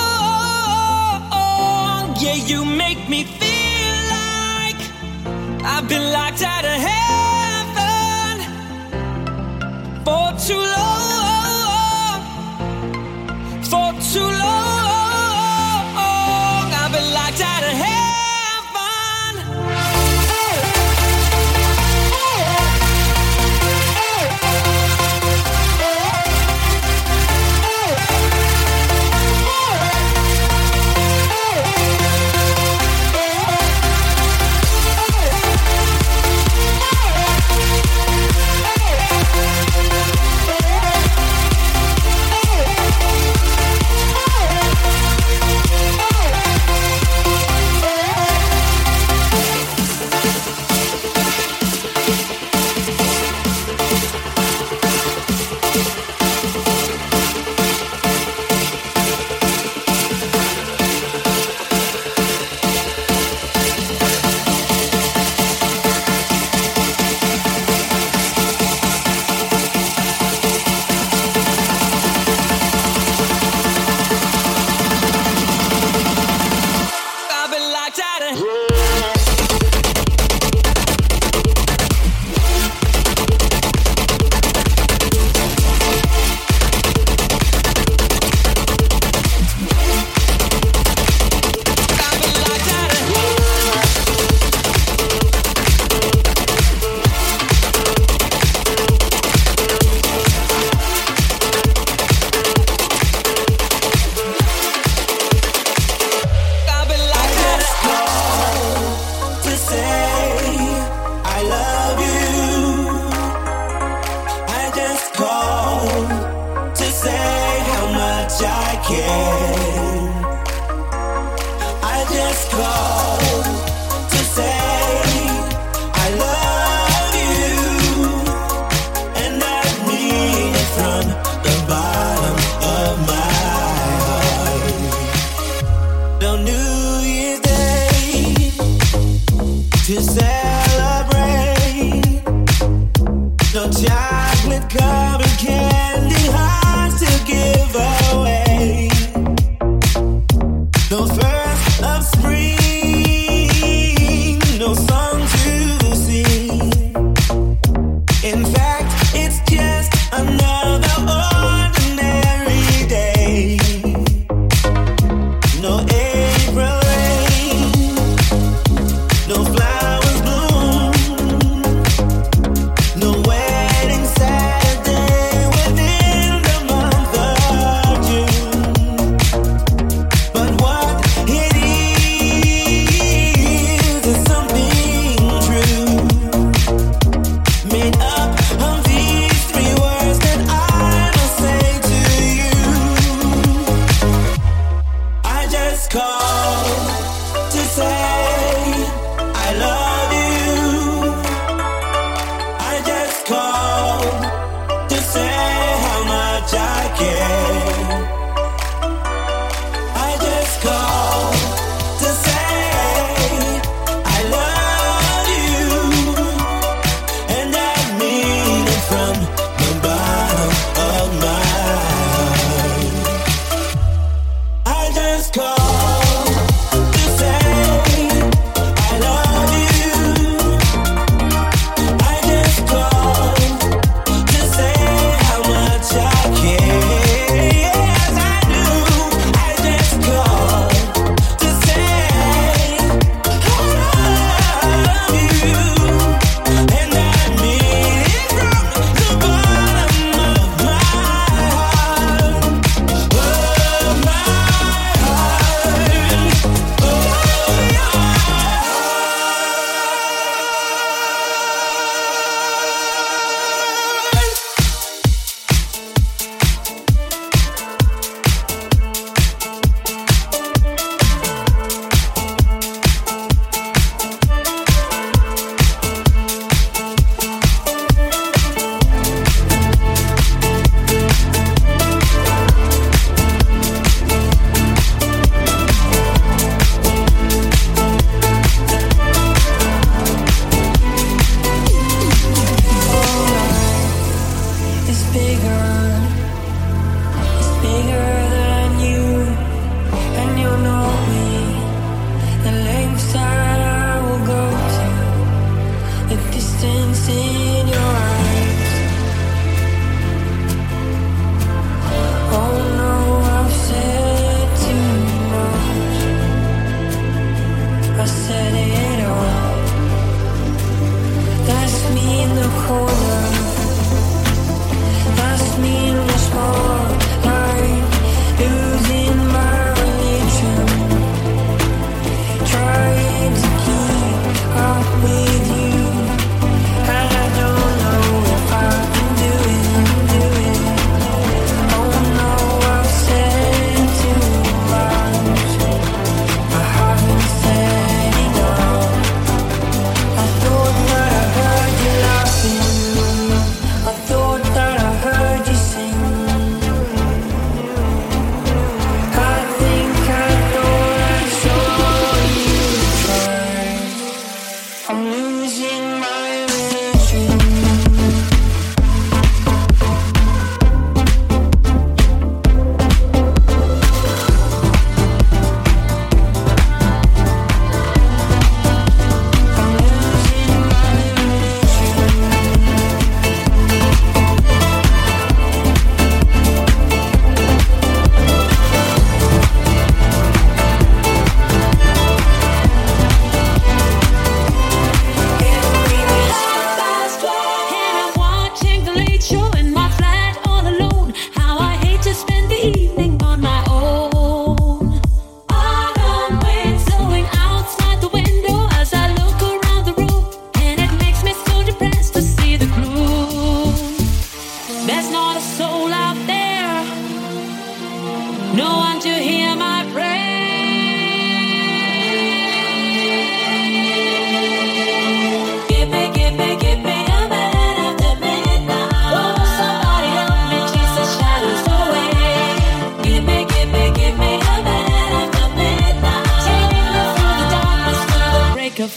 long. Yeah, you make me feel like I've been locked out of heaven for too long, for too long. I've been locked out of heaven. Saturday.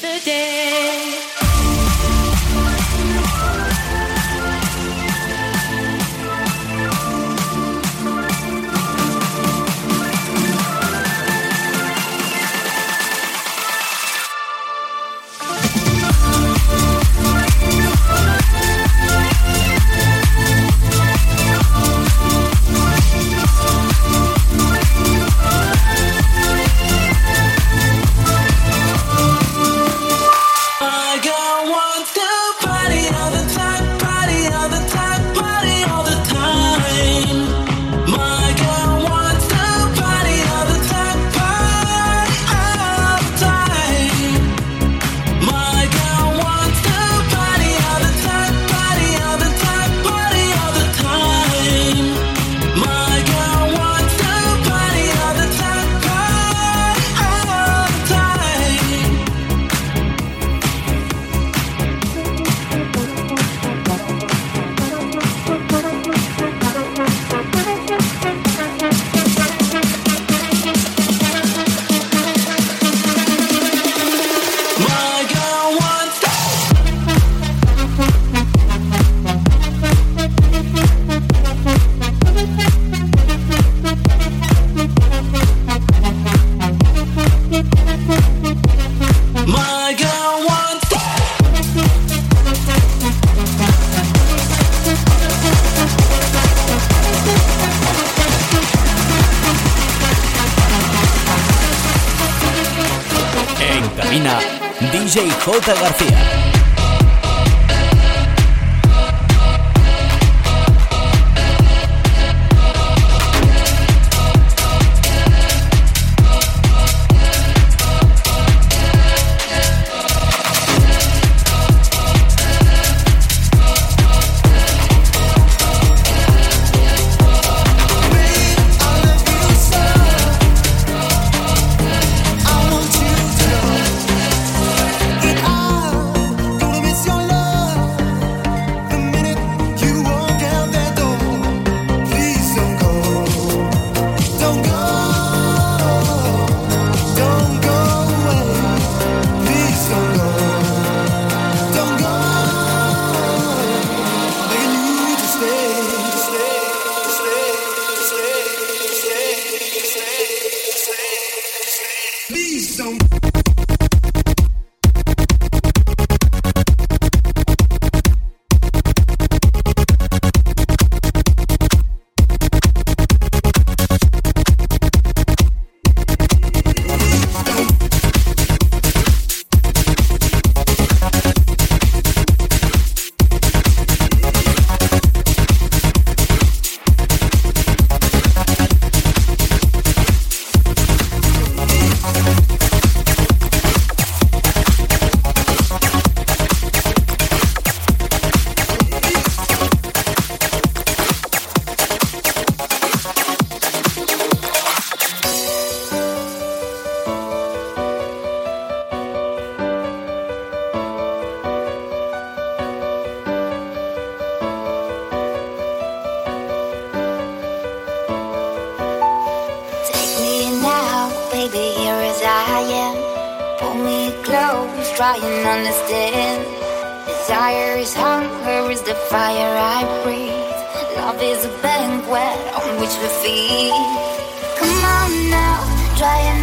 today. DJ J. García. Trying to understand. Desire is hunger, is the fire I breathe. Love is a banquet on which we feed. Come on now, try and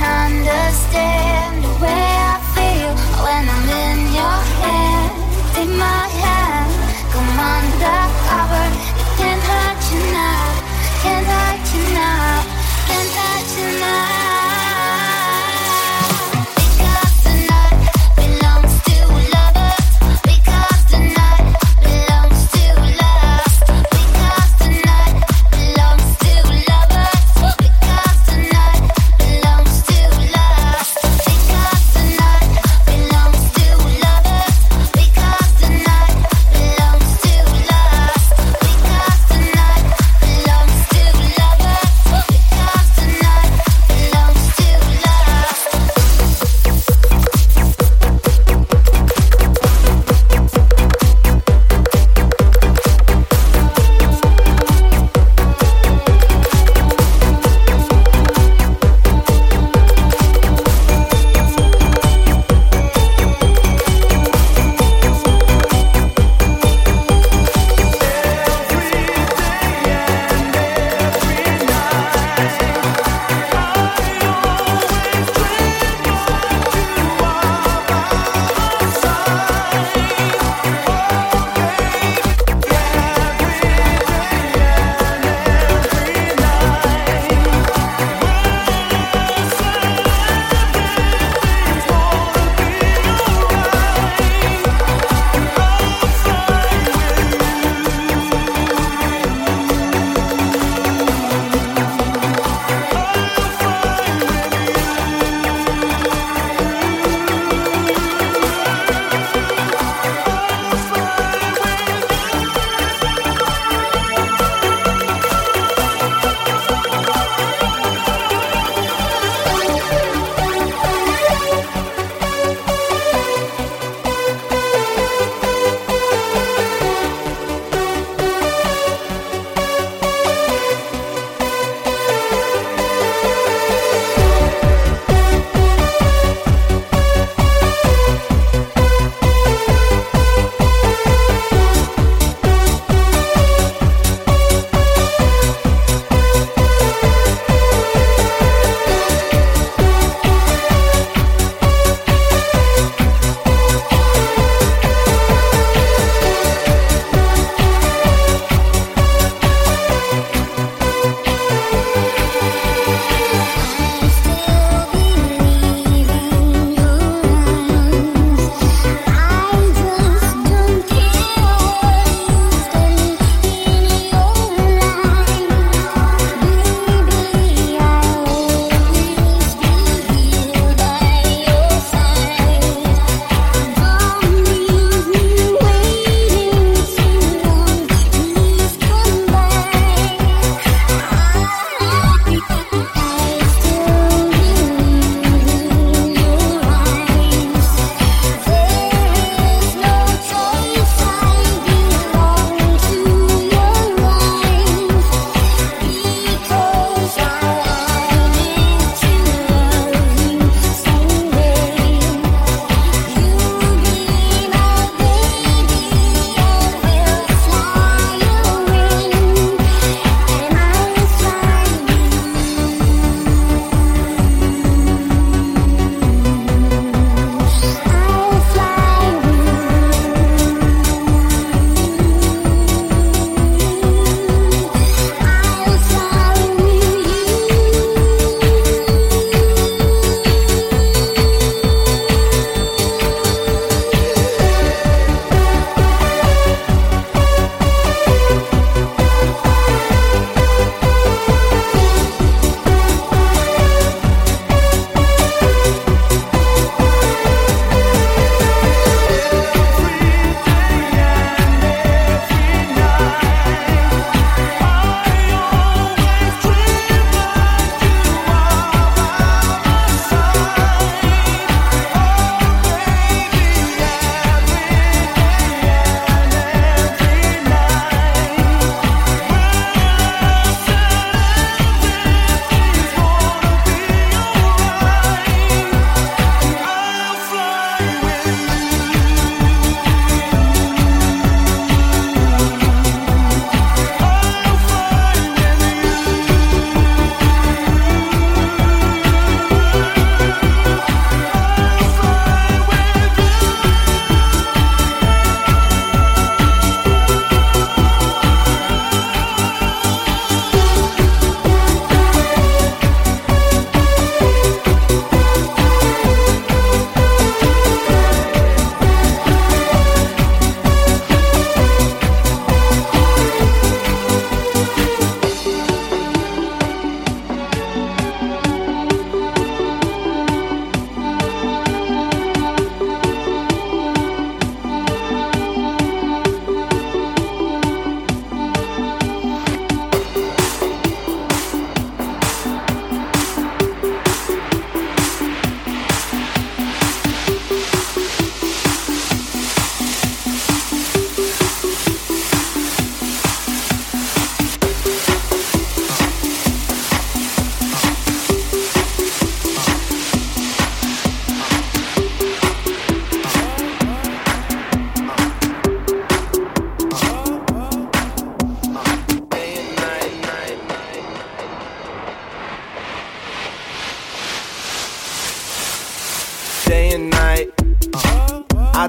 understand the way I feel when I'm in your hand. Take my hand, come under cover. It can't hurt you now, can't hurt you now, can't hurt you now. Belongs to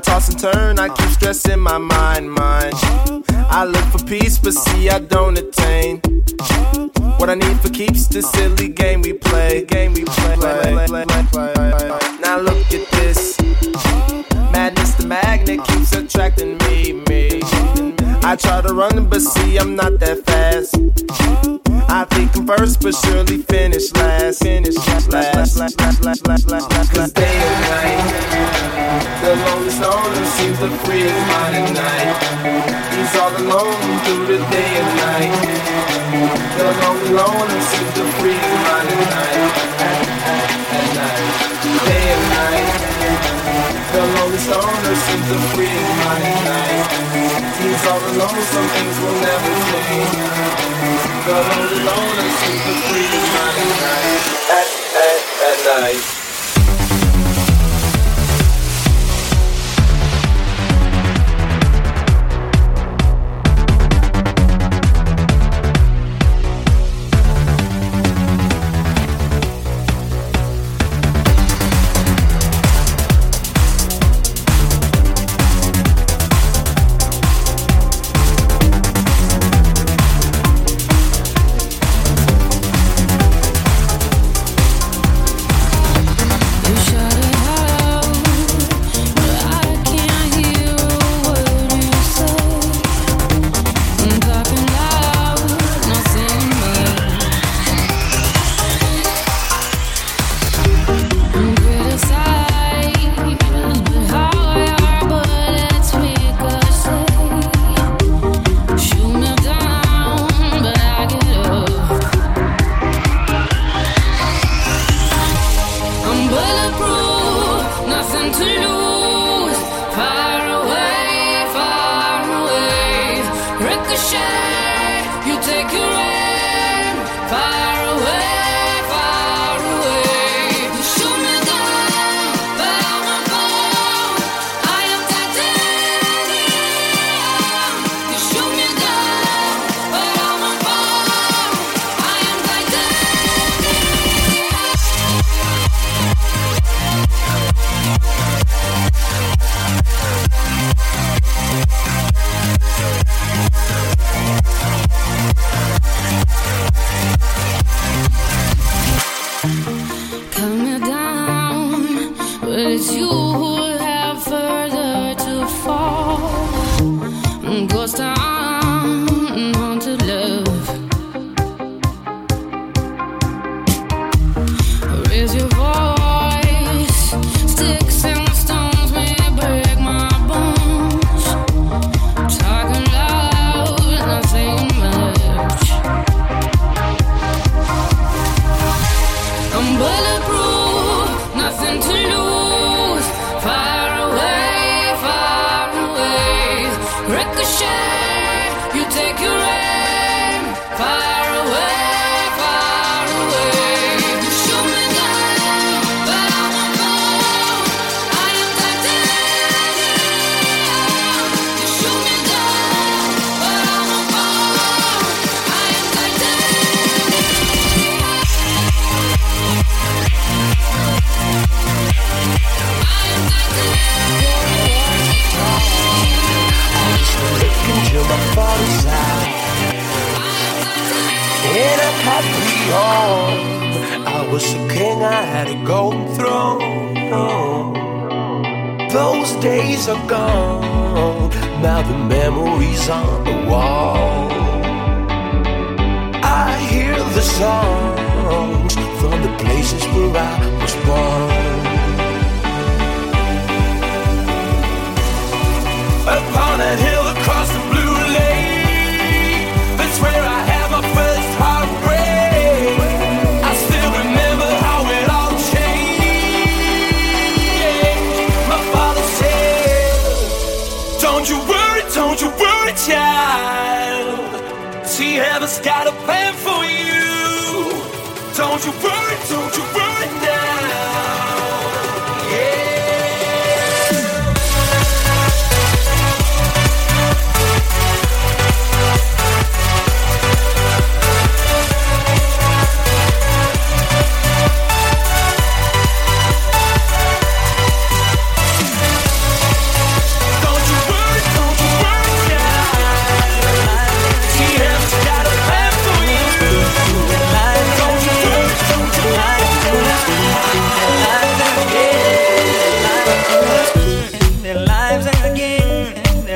toss and turn, I keep stressing my mind. I look for peace, but see I don't attain what I need for keeps this silly game we play. Now look at this. Madness, the magnet keeps attracting me. I try to run, but see I'm not that fast. I think I'm first, but surely finish last. Cause day and night, the lonely loner seems to free his mind at night. He's all alone through the day and night. The lonely loner seems to free his mind at night. At night, day and night. The lonely loner seems to free his mind at night. He's all alone, some things will never change. The lonely loner seems to free his mind at night. At night.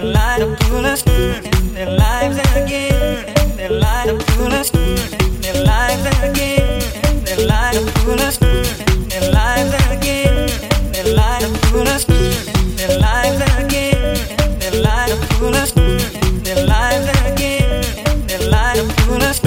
their light up to us, their lives again, their light up to us, their lives again, their light up to us, their lives again, their light up to us, their lives again, their light up to us, their lives again, their light up to us.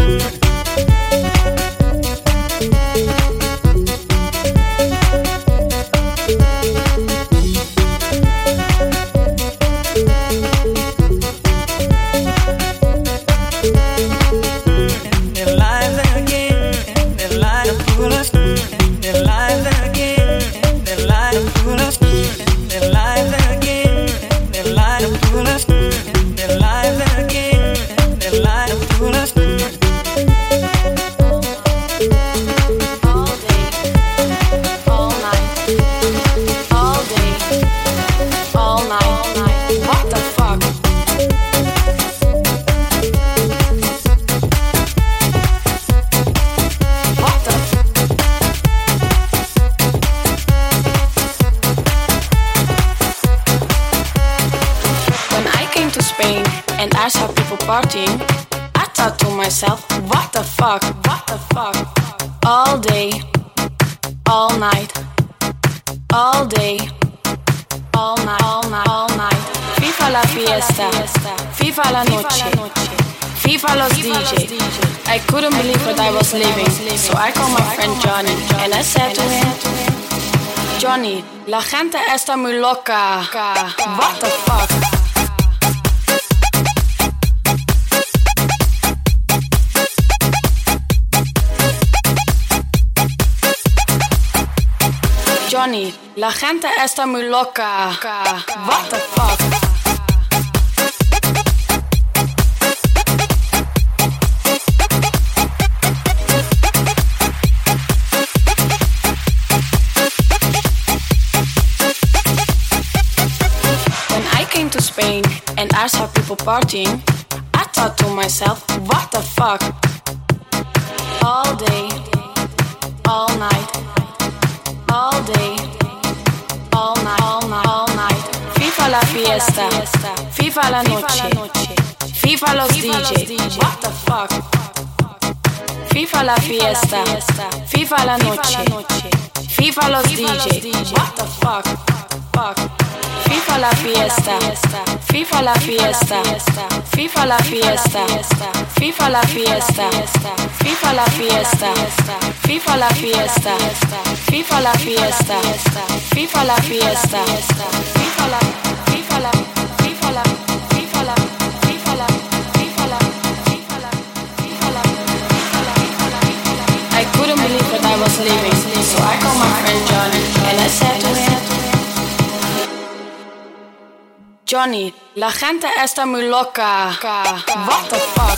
Partying, I thought to myself, what the fuck, all day, all night, all day, all night, all night, all night. FIFA la fiesta, FIFA la noche, FIFA los DJ. I couldn't believe what I was living, so I called my friend Johnny, and I said to him, Johnny, la gente está muy loca, what the fuck. Johnny, la gente está muy loca. What the fuck? When I came to Spain and I saw people partying, I thought to myself, what the fuck? All day, all night. All day, all night, all night, all night. FIFA la fiesta, FIFA la noche, FIFA los DJ. What the fuck? FIFA la fiesta, FIFA la noche, FIFA los DJ. What the fuck? FIFA la fiesta, FIFA la fiesta, FIFA la fiesta, FIFA la fiesta, FIFA la fiesta, FIFA la fiesta, FIFA la fiesta, FIFA la fiesta, FIFA la, FIFA la, FIFA la, FIFA la, FIFA la, FIFA la, FIFA la, FIFA la. I couldn't believe what I was living, so I called my friend Johnny and I said to him, Johnny, la gente está muy loca. What the fuck?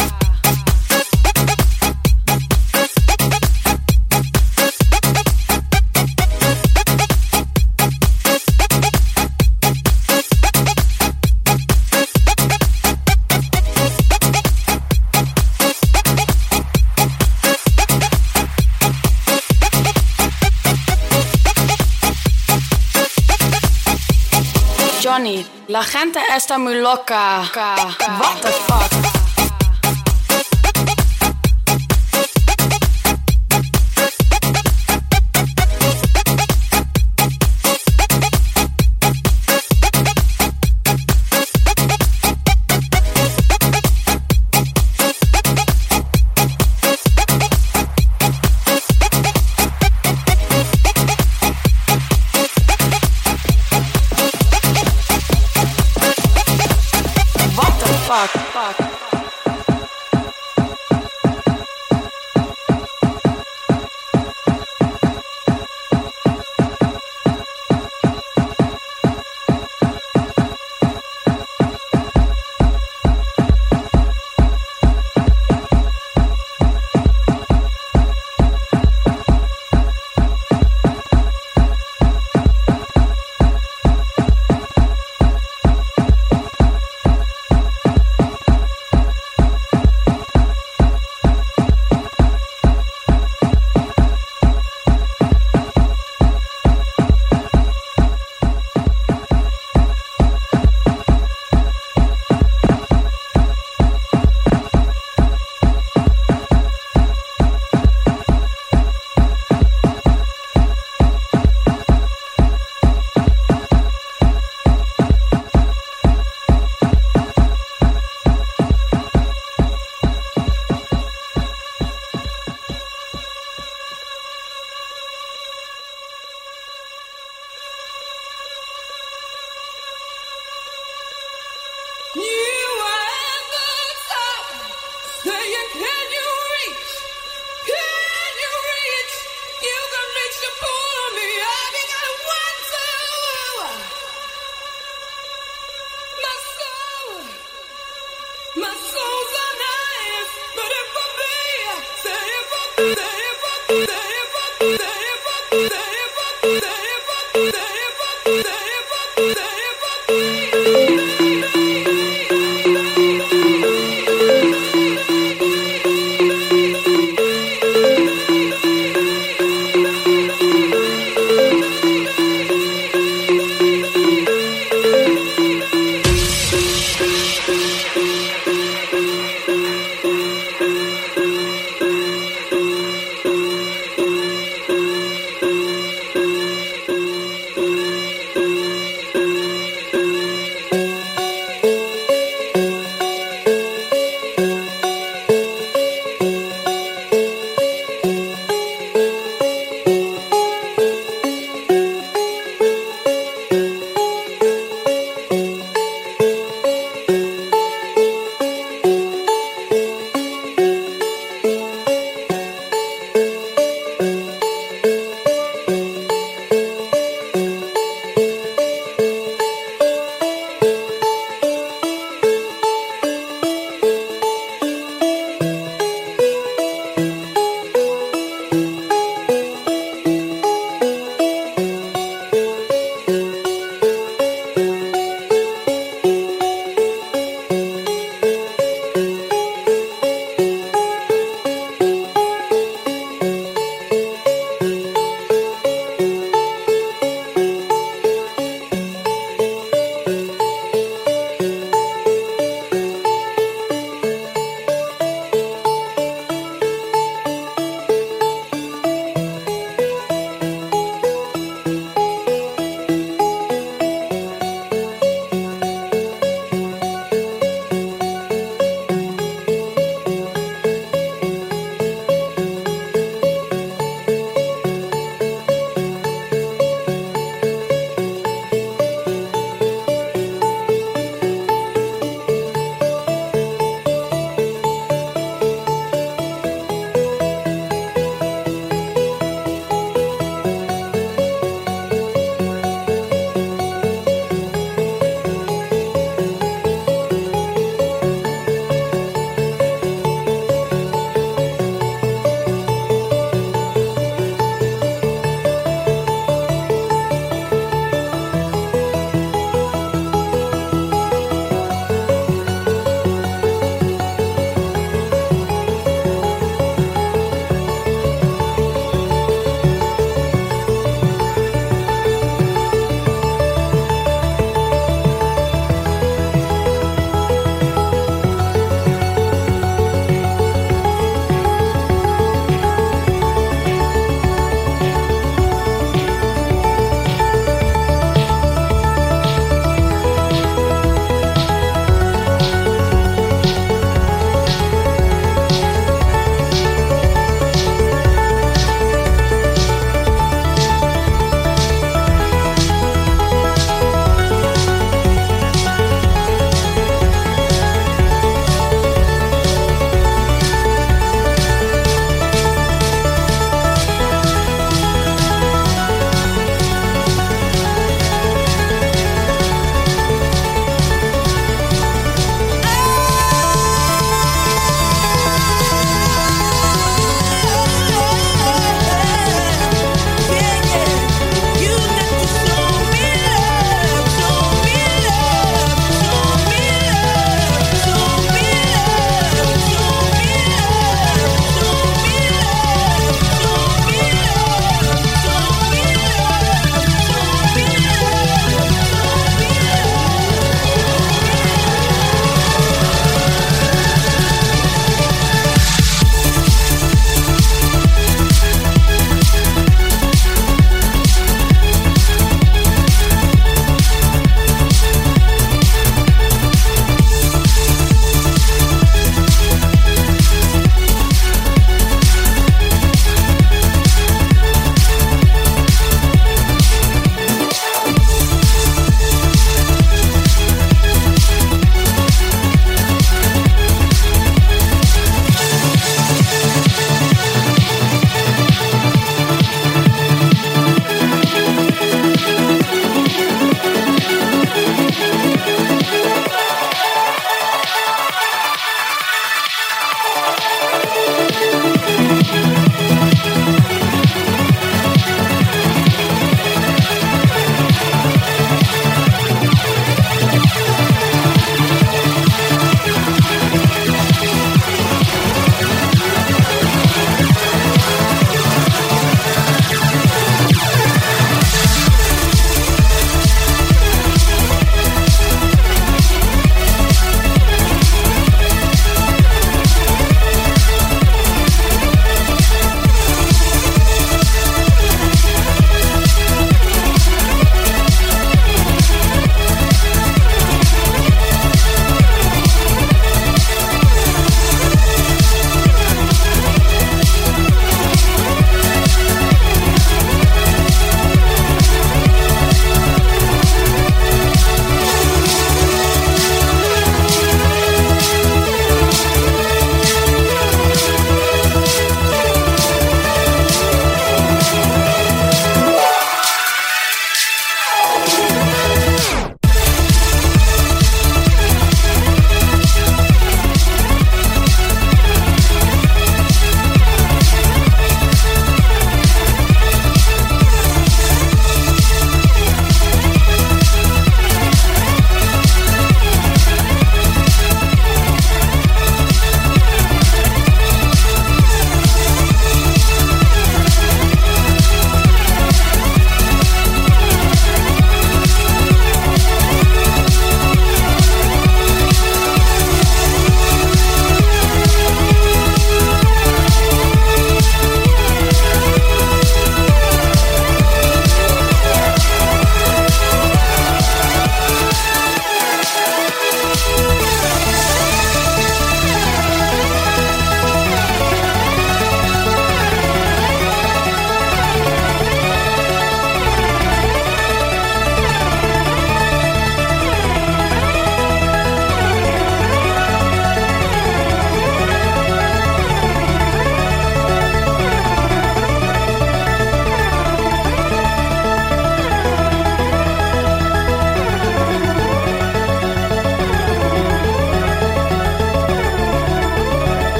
Johnny, la gente está muy loca. What the fuck? Fuck. soul.